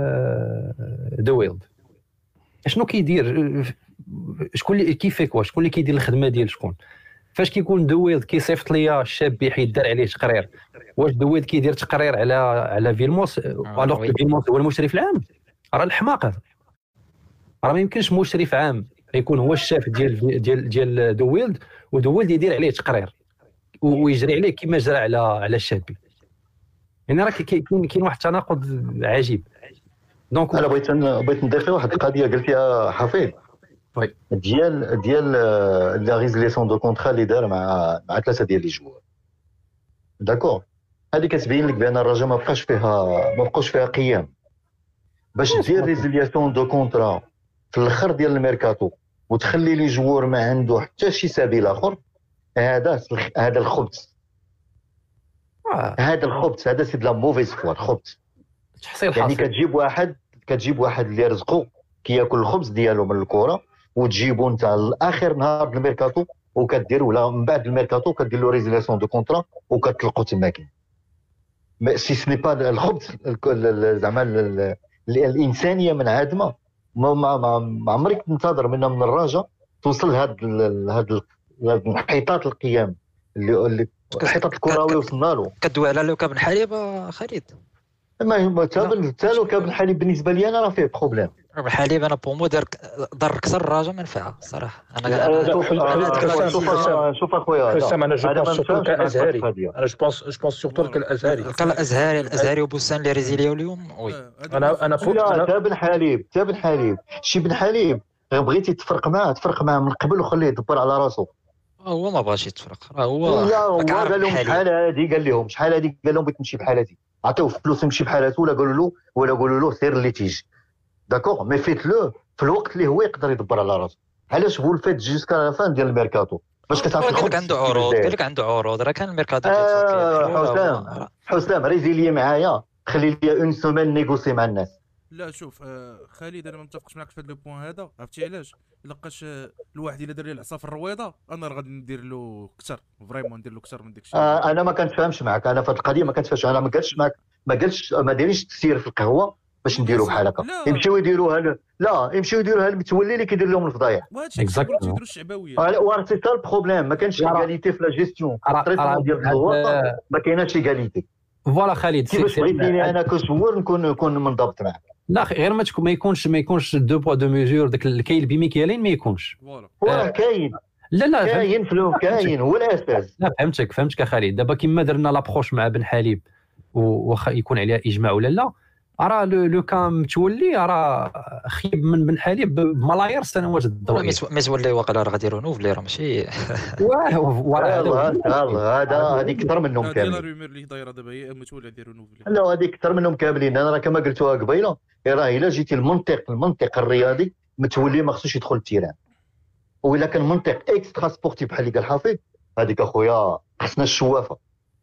دويلد، شنو كيدير شكون اللي كيفيك، واش شكون اللي كيدير الخدمه ديال شكون. فاش كيكون دويلد كيصيفط ليا الشاب بحيث دار عليه تقرير، واش دويلد كيدير تقرير على على فيلموس الوغ فيلموس هو المشرف العام؟ راه الحماق هذا. راه ما يمكنش مشرف عام يكون هو الشاف ديال ديال ديال دويلد ودويلد يدير عليه تقرير ويجري عليه كما جرى على على الشابي. يعني راه كاين كاين واحد التناقض عجيب. دونك انا بغيت بغيت نضيف واحد القضيه قلتيها حفيظ، وي ديال ديال لا ريزوليسيون دو كونطرا اللي دار مع مع ثلاثه ديال لي جوار. داكور، هذه كتبين لك بان الرجاء ما بقاش فيها ما بقاوش فيها قيام باش دير ريزوليسيون دو كونطرا في الاخر ديال الميركاتو وتخلي لي جوار ما عنده حتى شي سبيل اخر. هذا هذا الخبث، هذا الخبث هذا سي د لا موفيز فوا الخبث. تحصيل يعني حاصل كتجيب واحد كتجيب واحد اللي رزقو كياكل الخبز ديالو من الكره وتجيبو انت لاخر نهار د الميركاتو وكدير، ولا من بعد الميركاتو كدير له ريزوليسيون دو كونطرا وكتلقوا تما كاين. سي سني با الخبز زعما الانسانيه منعدمه. ما ما ما عمرك تنتظر منا من الرجاء توصل لهاد هاد الانحطاط القيام اللي الانحطاط الكروي وصلنا له. كدوي على لوكا بن حليب خالد؟ ما حتى لوكا بن حليب بالنسبه لي انا راه فيه بروبليم. بن حليب انا بومو دار ضر كسر الرجاء منفعه صراحه. انا شوف اخويا حسام، انا جو بونس سورتو كازهري، انا جو بونس جو بونس سورتو كالازهري الازهري الازهري وبوسان اللي ريزيليو اليوم. وي انا انا تا بن حليب تا بن حليب شي بن حليب بغيتي تفرق معاه تفرق معاه من قبل وخليه يدبر على راسو. هو ما بغاش يتفرق، راه هو لا هو قال لهم شحال هادي، قال لهم شحال هادي، قال لهم بغيت نمشي بحال هادي، عطيوه فلوس يمشي بحال هادي، ولا قالوا له ولا قالوا له سير اللي تيجي. داكوغ مي فيت لو في الوقت اللي هو يقدر يدبر على راسو. علاش هو الفات جيسكا لا فان ديال الميركاتو باش كتعرف قال لك الخبز عنده عروض قال لك عنده عروض راه كان الميركاتو ديال آه تركيا حسام حسام ريزيلي معايا، خلي لي اون سومين نيغوسي مع الناس. لا شوف آه خالد انا ما متفقش معك في هذا لو بوين هذا. عرفتي علاش؟ لقاش آه الواحد الا دار لي العصا في الرويضه انا راه غادي ندير له كثر فريمون ندير له كثر من داك الشيء. آه انا ما كنتفاهمش معك، انا في هذه القضيه ما كنتفاهمش، انا ما قالش معك ما قالش ما دايرينش تسير في القهوه باش نديروا بحال هكا، يمشيو يديروها ل... لا يمشيو يديروها المتولي اللي كيدير لهم الفضايح. وهادشي اللي تيديروا الشعبويه. واه سي سا البروبليم، ما كانش ايغاليتي في لا جيستيون التريتمون ديال الزوار، ما كايناش ايغاليتي. فوالا خالد كيفاش بغيتيني انا كزوار نكون نكون منضبط معك؟ لا غير ما تكون ما يكونش ما يكونش دو بوا دو ميزور، داك الكاين بمكيالين ما يكونش. فوالا واه كاين لا لا كاين فلو كاين هو الاساس. لا فهمتك فهمتك خالد. دابا كيما درنا لابروش مع بن حليب واخا يكون عليها اجماع ولا لا، راه لو كان متولي راه خيب من بن حليب بملايير السنوات الضوئيه. متولي واقيلا راه غادي رونوفلي راه ماشي واه هذا هذا هذه اكثر منهم هذه كاملين. لا رومير اللي دايره دابا هي متولي ديال رونوفلي. لا هذه اكثر منهم كاملين. انا راه كما قلتوها قبيله، راه الا جيتي المنطق المنطق الرياضي متولي ما خصوش يدخل التيران، وإلا كان منطق اكسترا سبورتيف بحال اللي قال حفيظ هذيك اخويا خصنا الشوافه.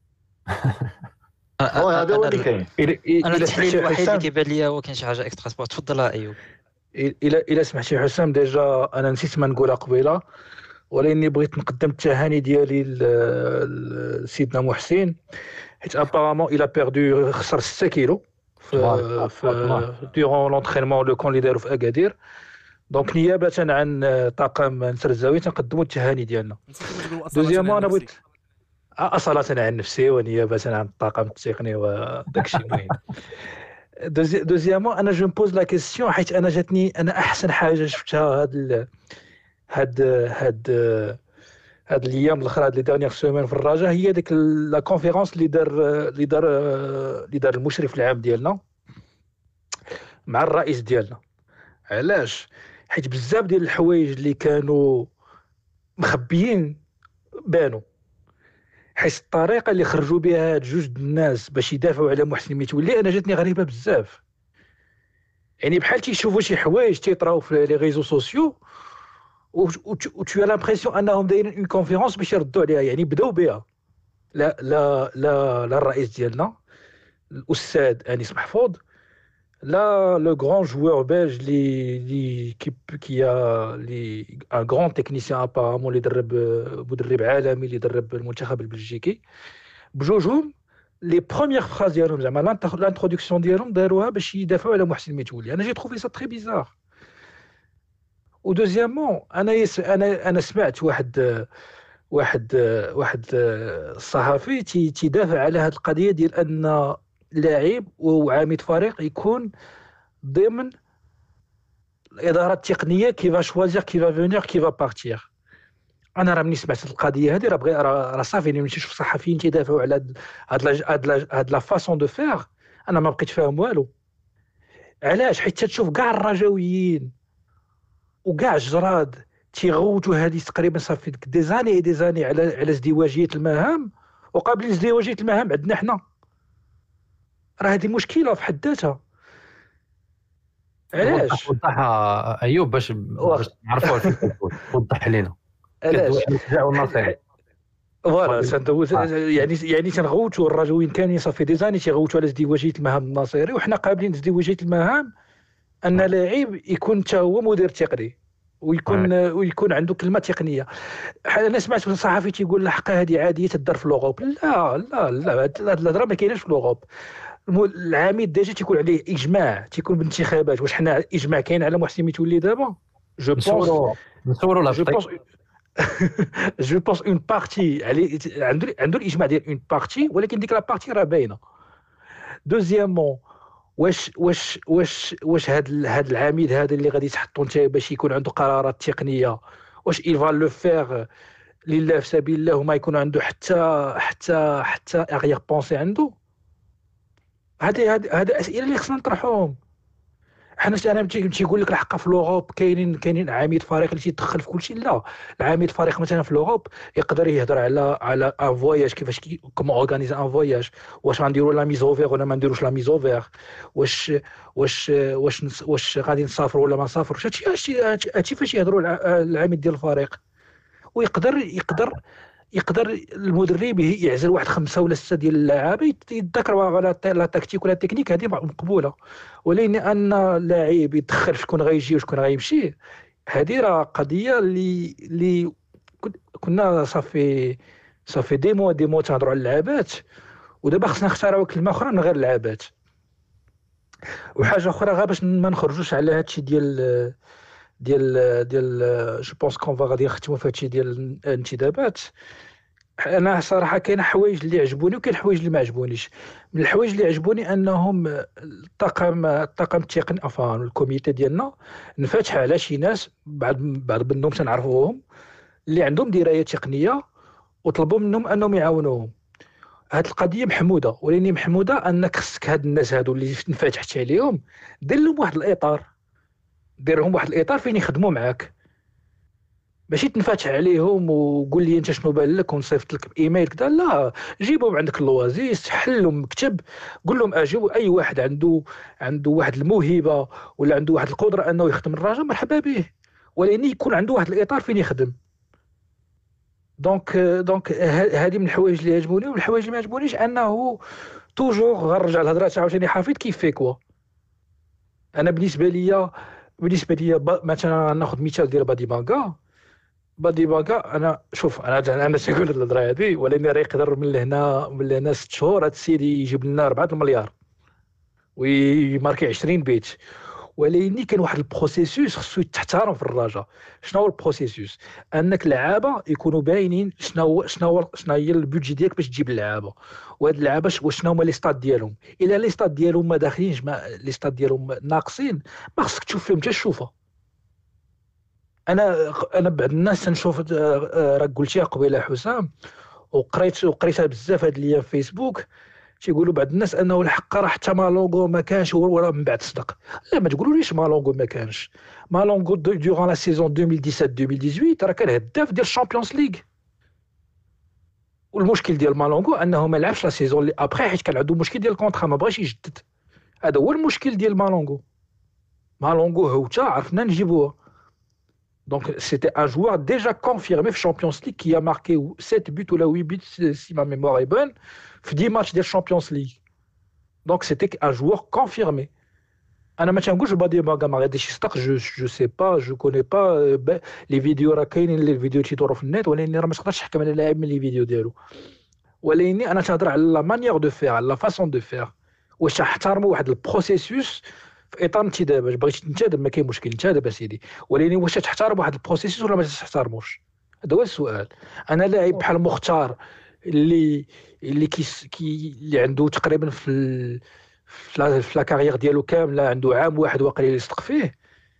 هذا هو اللي كاين. انا التحليل الوحيد اللي كيبان لي هو كاين شي حاجه اكسترا سبورت. تفضل ايوب. الى الى سمحتي حسام، ديجا انا نسيت ما نقولها قبيله، ولاني بغيت نقدم التهاني ديالي لسيدنا محسن، حيت ابارامون الى بيردو خسر ستة كيلو في في ديورون لونطرينمون لو كون اللي داروا في اكادير. دونك نيابه عن طاقم نسر الزاويه تنقدموا التهاني ديالنا. دوزيامون انا بغيت أصالة عن نفسي ونيابة عن الطاقم التقني وداك الشيء المهم. دوزيامون انا جو مبوز لا كيسيون حيت انا جاتني انا احسن حاجه شفتها هاد هاد هاد هاد الايام الاخرى هاد لي دانيير سيمين في الرجاء، هي ديك لا كونفيرونس اللي دار اللي دار اللي دار المشرف العام ديالنا مع الرئيس ديالنا. علاش؟ حيت بزاف ديال الحوايج اللي كانوا مخبيين بانوا، حيت الطريقه اللي خرجوا بها هاد جوج الناس باش يدافعوا على محسن متولي انا جاتني غريبه بزاف. يعني بحال تيشوفوا شي حوايج تيطراو في لي ريزو سوسيو و تو لامبرسيون انهم دايرين اون كونفيرونس باش يردوا عليها، يعني بداو بها. لا لا لا لا الرئيس ديالنا الاستاذ انيس محفوظ، لا لو غران جوور بيلج لي لي كي كي لي ان غران تكنيسيان ابارامون اللي درب مدرب عالمي اللي درب المنتخب البلجيكي، بجوجهم لي بروميير فراز ديالهم زعما لانتروداكسيون ديالهم داروها باش يدافعوا على محسن متولي. انا جي تروفي سا تري بيزار. و دوزيامون انا يس انا انا سمعت واحد واحد واحد الصحفي تيدافع على هذه القضيه ديال ان لاعب وعميد فريق يكون ضمن الاداره التقنيه كي فا شوازير كي فا فينير كي فا بارتير. انا راه ملي سمعت القضيه هذه راه بغي راه صافي ملي نشوف صحفيين تيدافعوا على هاد هاد هاد لا فاسون دو فير انا ما بقيت فاهم والو. علاش؟ حيت تشوف كاع الرجاويين وكاع الجراد تيغوتوا هذه تقريبا صافي دي زاني دي زاني على على ازدواجيه المهام، وقابلين ازدواجيه المهام عندنا حنا. راه هذه مشكله في حد ذاتها. علاش؟ وضح ايوب باش باش نعرفوا الفكره. وضح لينا علاش النصيحه. فوالا سندوز يعني يعني تنغوتوا الرجويين كانوا صافي دي زاني تيغوتوا على ازدواجيه المهام الناصري، وحنا قابلين ازدواجيه المهام ان لاعب يكون حتى هو مدير تقني ويكون ويكون عنده كلمه تقنيه. انا سمعت من صحفي تيقول الحق هذه عاديه تدار في لوروب. لا لا لا هاد الهضره ما كايناش في لوروب. العميد ديجا تيكون عليه اجماع تيكون بالانتخابات. واش حنا اجماع كاين على محسن متولي دابا؟ جو بونس نصوروا لا جو بونس جو بونس اون بارتي عليه عنده عنده الاجماع ديال اون بارتي، ولكن ديك لا بارتي راه باينه. دوزيامون واش واش واش واش هاد هاد العميد هذا اللي غادي تحطوا نتايا باش يكون عنده قرارات تقنيه، واش il va le faire لله في سبيل الله وما يكون عنده حتى حتى حتى اغير بونسي عنده؟ هذه هذه اسئله اللي خصنا نطرحوهم. حنا انا تيقول لك الحق في لوروب كاينين كاينين عميد فريق اللي تيدخل في كل شيء. لا، العميد فريق مثلا في لوروب يقدر يهضر على على ان فواياج كيفاش كومون اورغانيزي ان فواياج، واش غنديروا لا ميز اوفير ولا ما نديروش لا ميز اوفير، واش واش واش واش غادي نسافروا ولا ما نسافروش. هادشي هادشي فاش يهضروا العميد ديال الفريق. ويقدر يقدر يقدر المدرب يعزل واحد خمسه ولا سته ديال اللعابه يتذكروا على لا تكتيك ولا تكنيك، هذه مقبوله. ولكن ان اللاعب يدخل في شكون غيجي وشكون غيمشي، هذه راه قضيه اللي اللي كنا صافي صافي دي مو دي مو تهضروا على اللعابات، ودابا خصنا نختاروا كلمه اخرى من غير اللعابات. وحاجه اخرى غير باش ما نخرجوش على هادشي ديال ديال ديال جو بونس كون فا غادي نختموا في هادشي ديال الانتدابات. انا صراحه كاين حوايج اللي عجبوني وكاين حوايج اللي ما عجبونيش. من الحوايج اللي عجبوني انهم الطاقم الطاقم التقني افان الكوميتي ديالنا انفتح على شي ناس بعض بعض منهم تنعرفوهم اللي عندهم درايه تقنيه، وطلبوا منهم انهم يعاونوهم. هاد القضيه محموده، ولكن محموده انك خصك هاد الناس هادو اللي انفتحت عليهم دير لهم واحد الاطار، دير لهم واحد الاطار فين يخدموا معاك، ماشي تنفتح عليهم وقول لي انت شنو بان لك ونصيفط لك بايميل كذا. لا، جيبهم عندك اللوازيس، حل لهم مكتب، قول لهم اجيو اي واحد عنده عنده واحد الموهبه ولا عنده واحد القدره انه يخدم الراجل مرحبا به، ولكن يكون عنده واحد الاطار فين يخدم. دونك دونك هذه من الحوايج اللي عجبوني. ومن الحوايج اللي ما عجبونيش انه توجور غنرجع الهضره عاوتاني حفيظ كيف فيكوا. انا بالنسبه ليا بالنسبه ليا مثلا ناخذ مثال ديال بادي بانكا. بادي بانكا انا شوف انا انا تنقول الهضره هذه، ولكن راه يقدر من لهنا من لهنا ست شهور هذا السيد يجيب لنا أربعة المليار ويماركي عشرين بيت. ولكن كاين واحد البروسيسوس خصو يتحترم في الرجاء. شنو هو البروسيسوس؟ انك لعابه يكونوا باينين شنو شنو شنو هي البودجي ديالك باش تجيب اللعابه، وهاد اللعابه وشنو هما لي ستاد ديالهم. الا لي ستاد ديالهم ما داخلينش لي ستاد ديالهم ناقصين، ما خصك تشوف فيهم حتى الشوفه. انا انا بعض الناس تنشوف راك قلتيها قبيله حسام، وقريت وقريتها بزاف هاد الايام في فيسبوك، تيقولوا بعض الناس انه الحق راه حتى مالونغو ما كانش وراه من بعد صدق. لا، ما تقولوليش مالونغو ما كانش. مالونغو دوران لا سيزون ألفين وسبعطاش ألفين وثمانية عشر راه كان هداف ديال الشامبيونز ليغ. والمشكل ديال مالونغو انه ما لعبش لا سيزون اللي ابخي حيت كان عنده مشكل ديال الكونطرا ما بغاش يجدد. هذا هو المشكل ديال مالونغو. مالونغو هوتا عرفنا نجيبوه. Donc c'était un joueur déjà confirmé في Champions League qui a marqué sept buts ou la huit buts si ma mémoire est bonne في dix matchs de Champions League. Donc c'était un joueur confirmé. انا ما تنقولش بادي باغا ما غاديش يصدق. جو جو سي با جو كوني با لي فيديو راه كاينين لي فيديو تيدوروا في النت، ولكن راه ما تقدرش تحكم على اللاعب من لي فيديو ديالو. ولكن انا تهضر على لا مانيير دو فير، على لا فاسون دو فير، واش تحترموا واحد البروسيسوس في اطار انتداب. باش بغيتي تنتدب ما كاين مشكل انتدب اسيدي، ولكن واش تحترم واحد البروسيسوس ولا ما تحترموش؟ هذا هو السؤال. انا لاعب بحال مختار اللي اللي كي, كي اللي عنده تقريبا في ال... في لا كارير ديالو كامله عنده عام واحد واقيلا اللي يصدق فيه،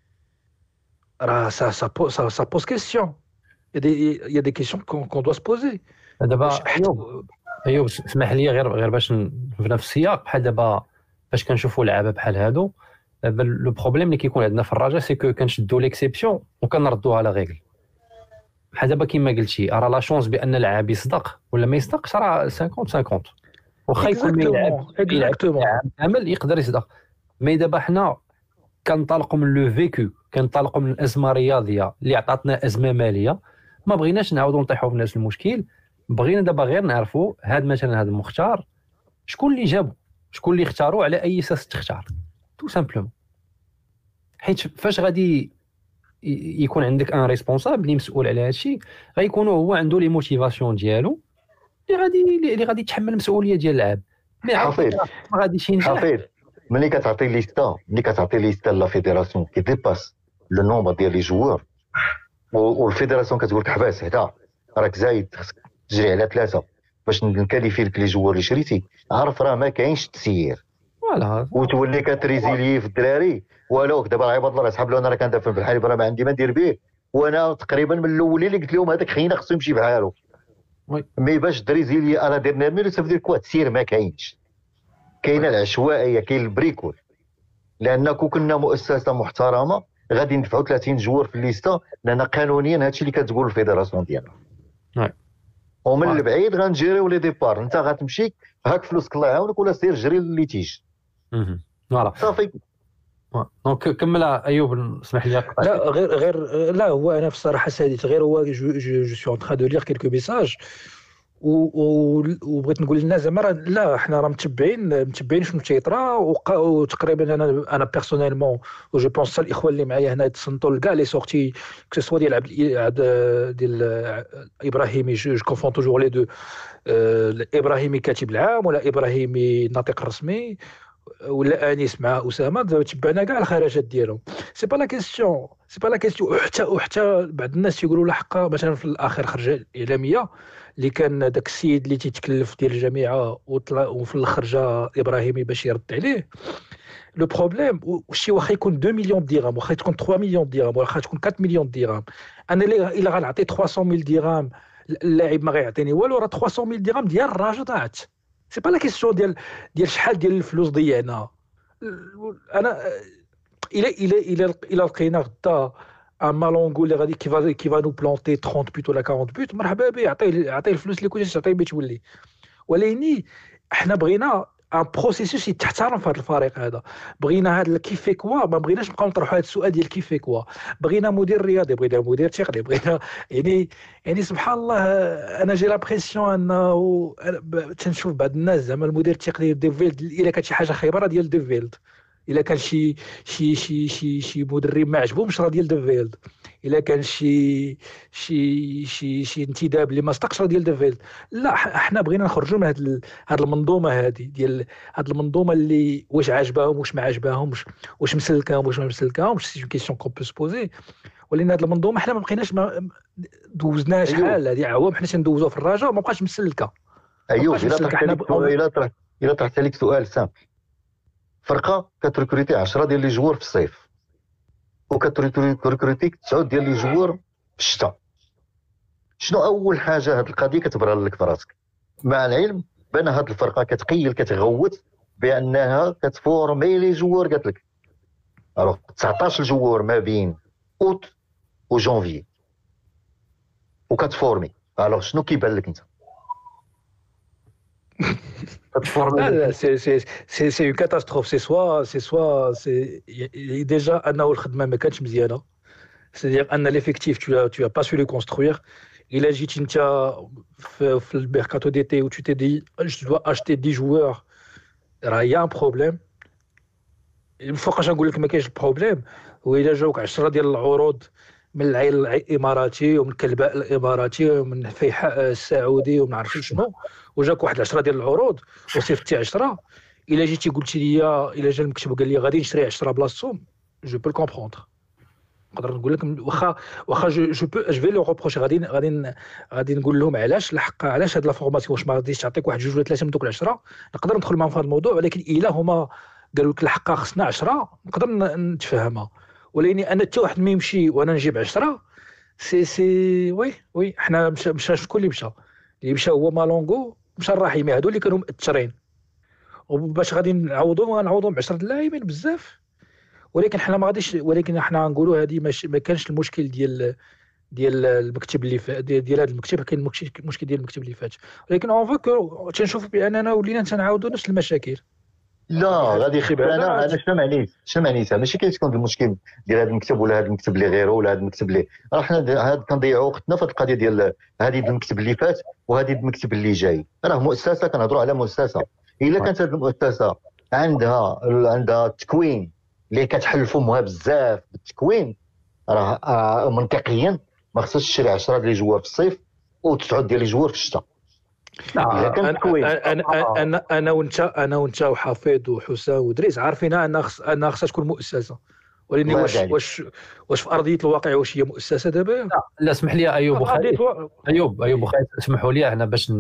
راه سا سا سا, سا بوز كيسيون. يا دي يا دي كيسيون كون كون دو سبوزي. دابا ايوب ايوب اسمح لي غير غير باش في نفس السياق بحال دابا باش كنشوفوا لعابه بحال هادو. دابا لو بروبليم اللي كيكون عندنا في الرجاء سي كو كنشدوا ليكسيبسيون وكنردوها على ريغل. بحال دابا كيما قلتي راه لا شونس بان اللاعب يصدق ولا ما يصدقش راه خمسين خمسين. واخا يكون ما يلعب كامل يقدر يصدق. مي دابا حنا كنطلقوا من لو فيكو، كنطلقوا من الازمه الرياضيه اللي عطاتنا ازمه ماليه. ما بغيناش نعاودوا نطيحوا في نفس المشكل. بغينا دابا غير نعرفوا هاد مثلا هاد المختار شكون اللي جابو، شكون اللي اختاروا، على اي اساس تختار تو سامبلومون. حيت فاش غادي يكون عندك ان ريسبونسابل اللي مسؤول على هادشي غيكونوا هو عنده لي موتيفاسيون ديالو اللي غادي اللي غادي يتحمل المسؤوليه ديال اللعب. مي حفيظ ما غاديش ينجح. حفيظ ملي كتعطي ليستا ملي كتعطي ليستا لا فيدراسيون كي ديباس لو نومبر ديال لي جوار، والفيدراسيون كتقول لك حباس هدا راك زايد خصك تجري على ثلاثه باش نكاليفي لك لي جوار اللي شريتي، عارف راه ما كاينش تسيير. فوالا وتولي كتريزيلي في الدراري. ولو دابا عباد الله صحاب انا راه كندافع في الحليب راه ما عندي ما ندير به، وانا تقريبا من الاولين اللي قلت لهم هذاك خينا خصو يمشي بحالو. مي باش دريزيلي انا درنا ميرو سافدير كوا تسير ما كاينش. كاينه العشوائيه، كاين البريكول. لان كون كنا مؤسسه محترمه غادي ندفعوا ثلاثين جوار في الليسته، لان قانونيا هادشي اللي كتقول الفيدراسيون ديالنا. ومن آه. البعيد غنجيريو لي ديبار. انت غتمشي هاك فلوسك الله يعاونك ولا سير جري اللي تيجي فوالا صافي. دونك كمل ايوب، اسمح لي. لا غير غير لا هو انا في الصراحه ساديت غير هو جو جو جو سو ان ترا دو لير كيلكو ميساج وبغيت نقول للناس زعما لا حنا راه متبعين متبعين شنو تيطرا. وتقريبا انا انا بيرسونيلمون و جو بونس حتى الاخوان اللي معايا هنا يتصنتوا لكاع لي سورتي كو سوا ديال عبد ديال ابراهيمي جو كونفون توجور لي دو ابراهيمي كاتب العام ولا ابراهيمي الناطق الرسمي ولا انيس مع اسامه. دابا تبعنا كاع الخرجات ديالهم. سي با لا كيسيون سي با لا كيسيون. وحتى وحتى بعض الناس تيقولوا لا حقا مثلا في الاخر خرجه الاعلاميه اللي كان داك السيد اللي تيتكلف ديال الجامعه وطلع وفي الاخر جا ابراهيمي باش يرد عليه. لو بروبليم وشي واخا يكون اثنين مليون درهم واخا تكون ثلاثة مليون درهم واخا تكون أربعة مليون درهم، انا الا غنعطي ثلاثمية ألف درهم اللاعب ما غيعطيني والو، راه ثلاثمية ألف درهم ديال الراجل ضاعت. سي با لا كيسيون ديال ديال شحال ديال الفلوس ضيعنا. انا الى الى الى الى لقينا غدا ان مالونغو اللي غادي كيفا كيفا نو بلونتي ثلاثين بوت ولا أربعين بوت، مرحبا به، عطيه عطيه الفلوس اللي كنتي تعطيه باش تولي. ولكن احنا بغينا ان بروسيسوس يتحترم في هذا الفريق هذا. بغينا هذا الكيفي كوا، ما بغيناش نبقاو نطرحوا هذا السؤال ديال كيفي كوا. بغينا مدير رياضي، بغينا مدير تقني، بغينا يعني يعني سبحان الله. انا جي لابريسيون انه تنشوف بعض الناس زعما المدير التقني ديفيلد الا كانت شي حاجه خيبره ديال ديفيلد، الا كان شي شي شي شي شي مدرب ما عجبهمش راه ديال ديفيلد، الا كان شي شي شي شي انتداب اللي ما صدقش راه ديال ديفيلد. لا احنا بغينا نخرجوا من هاد هاد المنظومه هذه ديال هاد المنظومه اللي واش عاجباهم واش ما عاجباهمش واش مسلكاهم واش ما مسلكاهمش. سي كيسيون كون بو سبوزي. ولكن هاد المنظومه احنا ما بقيناش ما دوزناها شحال هذه عوام حنا تندوزوها في الرجاء وما بقاش مسلكه. ايوه الا طرحت لك الا طرحت الا طرحت لك سؤال سامبل. فرقه كتركروتي عشرة ديال لي جوار في الصيف وكتركروتي تسعة ديال لي جوار في الشتاء، شنو اول حاجه هاد القضيه كتبرر لك في راسك؟ مع العلم بان هاد الفرقه كتقيل كتغوت بانها كتفورمي لي جوار. قالت لك الوغ تسعطاش جوار ما بين اوت وجونفي وكتفورمي. الوغ شنو كيبان لك انت؟ لا لا سي سي سي سي اون كاتاستروف. سي سوا سي سوا سي ديجا انه الخدمه ما كانتش مزيانه. سي ان ليفيكتيف tu as tu as pas su le construire. الا جيتي انت في, في الميركاتو ديتي و tu t'es dit je dois acheter dix joueurs راه يا ان بروبليم. فوقاش نقول لك ما كاينش البروبليم. والا جاوك عشرة ديال العروض من العين الاماراتي ومن كلباء الاماراتي ومن فيحاء السعودي وما عرفتش شنو، وجاك واحد عشرة ديال العروض وصيفطتي عشرة، الا جيتي قلتي لي الا جا المكتب وقال لي غادي نشري عشرة بلاصتهم جو بو كومبروندر. نقدر نقول لك واخا واخا جو جو بو جو في لو روبروش غادي غادي غادي نقول لهم علاش الحق علاش هاد لا فورماسيون واش ما غاديش تعطيك واحد جوج ولا ثلاثه من دوك العشرة. نقدر ندخل معاهم في هذا الموضوع، ولكن الا هما قالوا لك الحق خصنا عشرة نقدر نتفاهمها. ولكن انا حتى واحد ما يمشي وانا نجيب عشرة سي سي وي وي حنا مشى مشى شكون اللي مشى اللي مشى هو مالونغو مشى الرحيمي هادو اللي كانوا مأثرين، وباش غادي نعوضوا غنعوضوا ب عشرة اللاعبين بزاف. ولكن حنا ما غاديش ولكن حنا غنقولوا هذه ما كانش المشكل ديال ديال المكتب اللي فات ديال, ديال هذا المكتب، كاين المشكل ديال المكتب اللي فات. ولكن اون فو تنشوف باننا ولينا تنعاودوا نفس المشاكل. لا غادي يخيب. انا انا شنو معنيت شنو معنيتها ماشي كيتكون المشكل ديال هذا المكتب ولا هذا المكتب اللي غيره ولا هذا المكتب اللي راه حنا هاد كنضيعوا وقتنا في القضيه ديال هذه المكتب اللي فات وهذه المكتب اللي جاي. راه مؤسسه كنهضروا على مؤسسه. الا كانت هذه المؤسسه عندها عندها تكوين اللي كتحل فمها بزاف بالتكوين، راه منطقيا ما خصهاش تشري عشرة ديال الجوار في الصيف وتسعة ديال الجوار في الشتاء. انا انا انا انا وانت انا وانت وحفيظ وحسام ودريس عارفين ان خص ان خصها تكون مؤسسه. ولكن واش واش واش في ارضيه الواقع واش هي مؤسسه دابا؟ لا لا اسمح لي ايوب وخالد ايوب ايوب وخالد اسمحوا لي هنا باش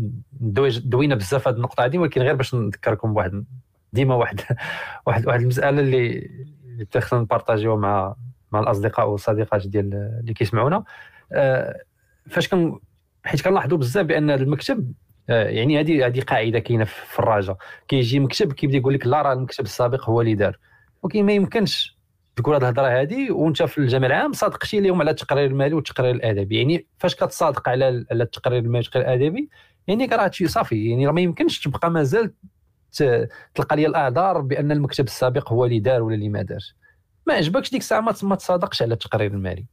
دوينا بزاف هذه النقطه هذه، ولكن غير باش نذكركم بواحد ديما واحد واحد واحد المساله اللي اللي تخصنا نبارطاجيوها مع مع الاصدقاء والصديقات ديال اللي كيسمعونا. أه فاش كن حيت كنلاحظوا بزاف بان المكتب أه يعني هذه هذه قاعده كاينه في الرجاء، كيجي مكتب كيبدا يقول لك لا راه المكتب السابق هو اللي دار، ولكن ما يمكنش تقول هذه الهضره هذه وانت في الجامع العام صادقتي لهم على التقرير المالي والتقرير الادبي. يعني فاش كتصادق على على التقرير المالي والتقرير الادبي يعني راه شي صافي، يعني ما يمكنش تبقى مازال تلقى لي الاعذار بان المكتب السابق هو اللي دار ولا اللي ما دارش. ما عجبكش ديك الساعه ما تصادقش على التقرير المالي.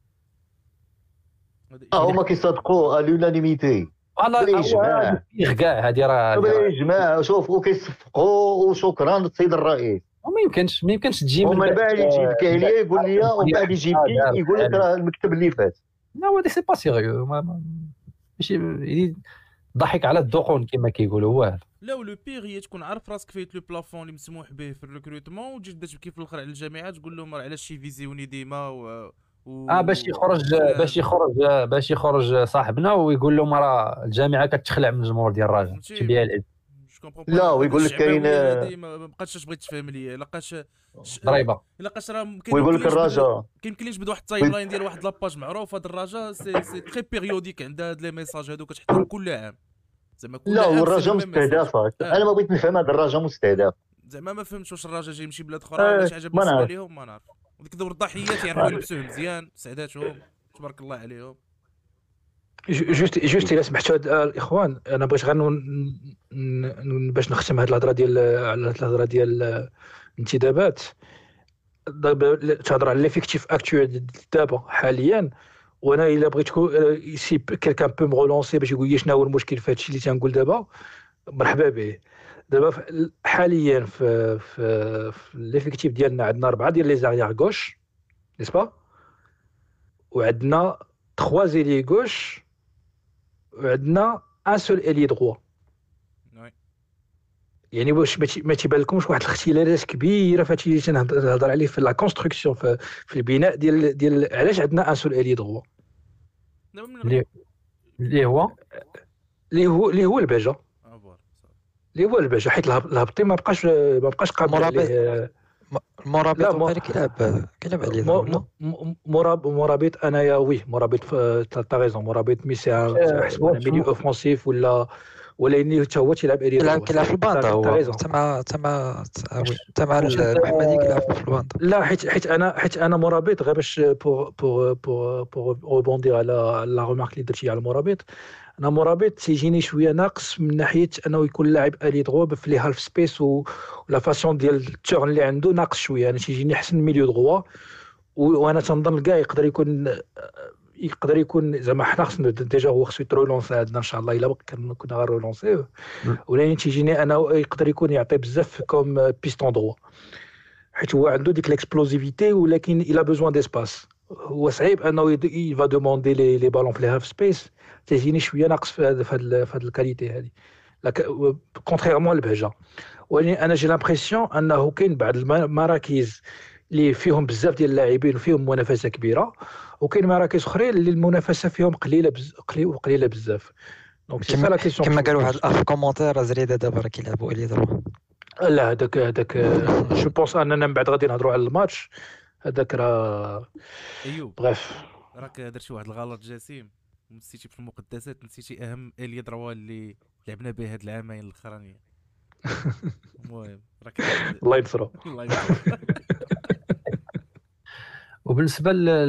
اه هما كيصادقوا اليونانيميتي بالإجماع كاع هذه راه بالإجماع. شوف وكيصفقوا وشكرا للسيد الرئيس. وما يمكنش ما يمكنش تجي ومن بعد يجيب لي يقول لي ومن بعد يجيب لي يقول لك راه المكتب اللي فات. لا هذا سي با سيريو ماشي ضحك على الدقون كما كيقولوا هو هذا. لا ولو بيغ هي تكون عارف راسك فايت لو بلافون اللي مسموح به في الريكروتمون وتجي تبدا تبكي في الاخر على الجامعات تقول لهم راه علاش شي فيزيوني ديما و... و... اه باش يخرج باش يخرج باش يخرج صاحبنا ويقول لهم راه الجامعه كتخلع من الجمهور ديال الراجل تبيع العيد. لا ويقول لك كاين ما بقاتش اش بغيت تفهم ليا لقاش ضريبه لقاش راه ويقول لك الراجا كيمكن ليش بدا واحد التايم لاين ديال واحد لاباج معروف. هاد الراجا سي سي تري بيريوديك عندها هاد لي ميساج هادو كتحطهم كل عام زعما كل لا عام. والراجا مستهدفه. انا ما بغيت نفهم هذا الراجا مستهدف زعما ما فهمتش واش الراجا جاي يمشي بلاد اخرى ولا شي حاجه بالنسبه ليهم ما نعرف. وديك دور الضحيات يعرفوا يلبسوه مزيان سعداتهم تبارك الله عليهم. جوست جوست الا سمحتوا الاخوان انا بغيت غير باش نختم هذه الهضره ديال على الهضره ديال الانتدابات. دابا تهضر على ليفيكتيف اكتويل دابا حاليا وانا الا بغيت سي كيلكان بو مغولونسي باش يقول لي شنو هو المشكل في هادشي اللي تنقول دابا مرحبا به. دابا حاليا في في, في ليفيكتيف ديالنا عندنا اربعه ديال لي زاريير غوش نيسبا وعندنا ثلاثة زيلي غوش وعندنا ان سول الي دروا. يعني واش ما تيبان لكمش واحد الاختلالات كبيره في هادشي اللي تنهضر عليه في لا كونستركسيون في, في البناء ديال ديال علاش عندنا ان سول الي دروا اللي اللي هو اللي هو اللي هو الباجه اللي هو الباجه حيت الهبطي ما بقاش ما بقاش قابل عليه مرابط وغير كيلعب كيلعب عليه مرابط مرابط انايا وي مرابط تا ريزون مرابط مي سي ميليو اوفونسيف ولا ولا اني حتى هو تيلعب اريد كيلعب كيلعب في الباندا هو تما تما تما المحمدي كيلعب في الباندا. لا حيت حيت انا حيت انا مرابط غير باش بور بور بور بور روبوندي على لا ريمارك اللي درتي على المرابط. انا مرابط تيجيني شويه ناقص من ناحيه انه يكون لاعب الي دروا في لي هالف سبيس ولا فاسون ديال التورن اللي عنده ناقص شويه. انا تيجيني احسن ميليو دروا وانا تنظن كاع يقدر يكون يقدر يكون زعما حنا خصنا ديجا هو خصو يترولونسي عندنا ان شاء الله الا كنا غنرولونسيوه ولكن تيجيني انا يقدر يكون يعطي بزاف كوم بيستون دروا حيت هو عنده ديك ليكسبلوزيفيتي ولكن الا بوزوان ديسباس. هو صعيب انه يفا دوموندي لي لي بالون في لي هاف سبيس تيجيني شويه ناقص في هذا في هذه الكاليتي هذه كونتريرمون للبهجه. ولكن انا جي لامبرسيون انه كاين بعض المراكز اللي فيهم بزاف ديال اللاعبين وفيهم منافسه كبيره وكاين مراكز اخرين اللي المنافسه فيهم قليله بز... قليله بزاف. دونك سي لا كيسيون كما قال واحد الاخ في كومونتير زريده دابا راه كيلعبوا الي دروا. لا هذاك هذاك جو بونس اننا من بعد غادي نهضروا على الماتش هذاك راه ايوب بغيف راك درتي واحد الغلط جسيم نسيتي في المقدسات نسيتي اهم الي دروا اللي لعبنا به هاد العامين الاخرانيين. المهم راك الله ينصرو الله ينصرو. وبالنسبه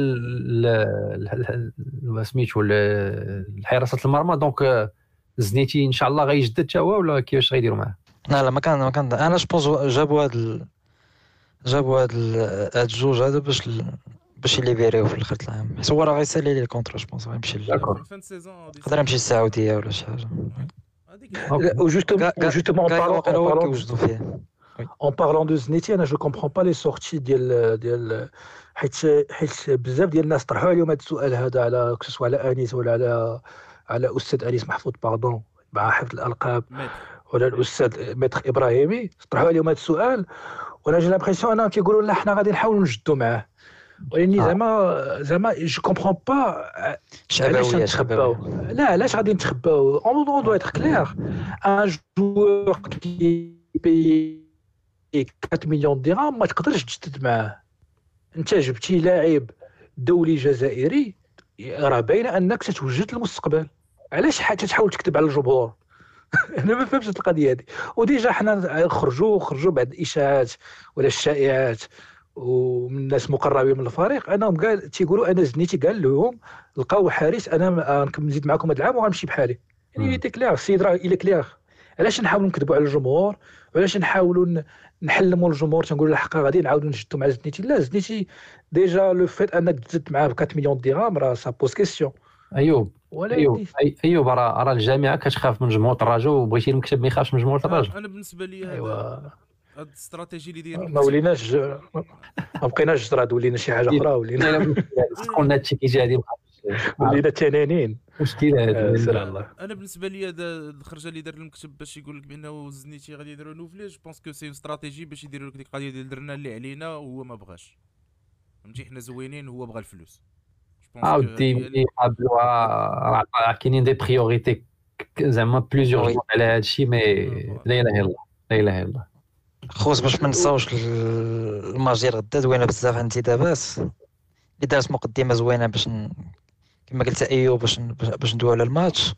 ل سميتو لحراسه المرمى دونك زنيتي ان شاء الله غيجدد حتى هو ولا كيفاش غيديروا معاه؟ لا لا ما كان ما كان انا جوبونس جابوا هاد ال... جابوا هاد ال... هاد الجوج هذا باش ل... باش يليبيريو في الاخر العام. حيت هو راه غيسالي لي الكونترا جوبونس غيمشي يقدر يمشي للسعوديه ولا شي حاجه. وجوستومون جوستومون بارلون كيوجدوا فيه En parlant de Zneti, انا جو كومبرون با لي سورتي ديال ديال حيت حيت بزاف ديال الناس طرحوا عليهم هذا السؤال هذا على كسوا على انيس ولا على على استاذ انيس محفوظ باردون مع حفظ الالقاب ولا الاستاذ ميتر ابراهيمي طرحوا عليهم هذا السؤال وانا جي لامبرسيون انهم كيقولوا لا حنا غادي نحاولوا نجدوا معاه. ولكن زعما زعما جو كومبرون با علاش نتخباو. لا علاش غادي نتخباو اون دو اتر كلير ان جوور كي بي أربعة مليون درهم ما تقدرش تجدد معاه. انت جبتي لاعب دولي جزائري راه باينه انك تتوجد المستقبل. علاش حتى تحاول تكذب على الجمهور؟ انا ما فهمتش القضيه هذه. وديجا حنا خرجوا خرجوا بعد الاشاعات ولا الشائعات ومن الناس مقربين من الفريق انهم قال تيقولوا انا زنيتي قال لهم لقاو حارس انا نزيد معكم هذا العام وغنمشي بحالي. يعني تي كلير السيد راه الى كلير علاش نحاولوا نكذبوا على الجمهور وعلاش نحاولوا نحلموا الجمهور تنقولوا الحق غادي نعاودوا نجدوا مع زدنيتي لا زدنيتي ديجا لو فيت انك تزد معاه ب أربعة مليون درهم راه سا بوز كيسيون. ايوب ولا ايوب أي- ايوب راه راه الجامعه كتخاف من جمهور الدراجه وبغيتي المكتب ما يخافش من جمهور الدراجه. انا بالنسبه لي ايوا هذا هاد الاستراتيجي اللي داير ما وليناش ما بقيناش جراد ولينا شي حاجه اخرى ولينا قلنا هادشي كيجي غادي ولينا تنانين. مشكله هذه. آه، سير الله. انا بالنسبه لي هذا الخرجه اللي دار المكتب باش يقول لك بانه زنيتي غادي يديروا نوفلي جو بونس كو سي استراتيجي باش يديروا لك ديك القضيه ديال درنا اللي علينا وهو ما بغاش فهمتي حنا زوينين هو بغى الفلوس. جو بونس عاودي ملي قابلوها راه كاينين دي بريوريتي زعما بليزيور جون على هادشي مي لا اله الا الله لا اله الا الله. خوت باش ما نساوش الماتش ديال غدا زوينه بزاف عندي دابا اللي دارت مقدمه زوينه باش ن... كما قلت ايوب باش ن... باش ندويو على الماتش.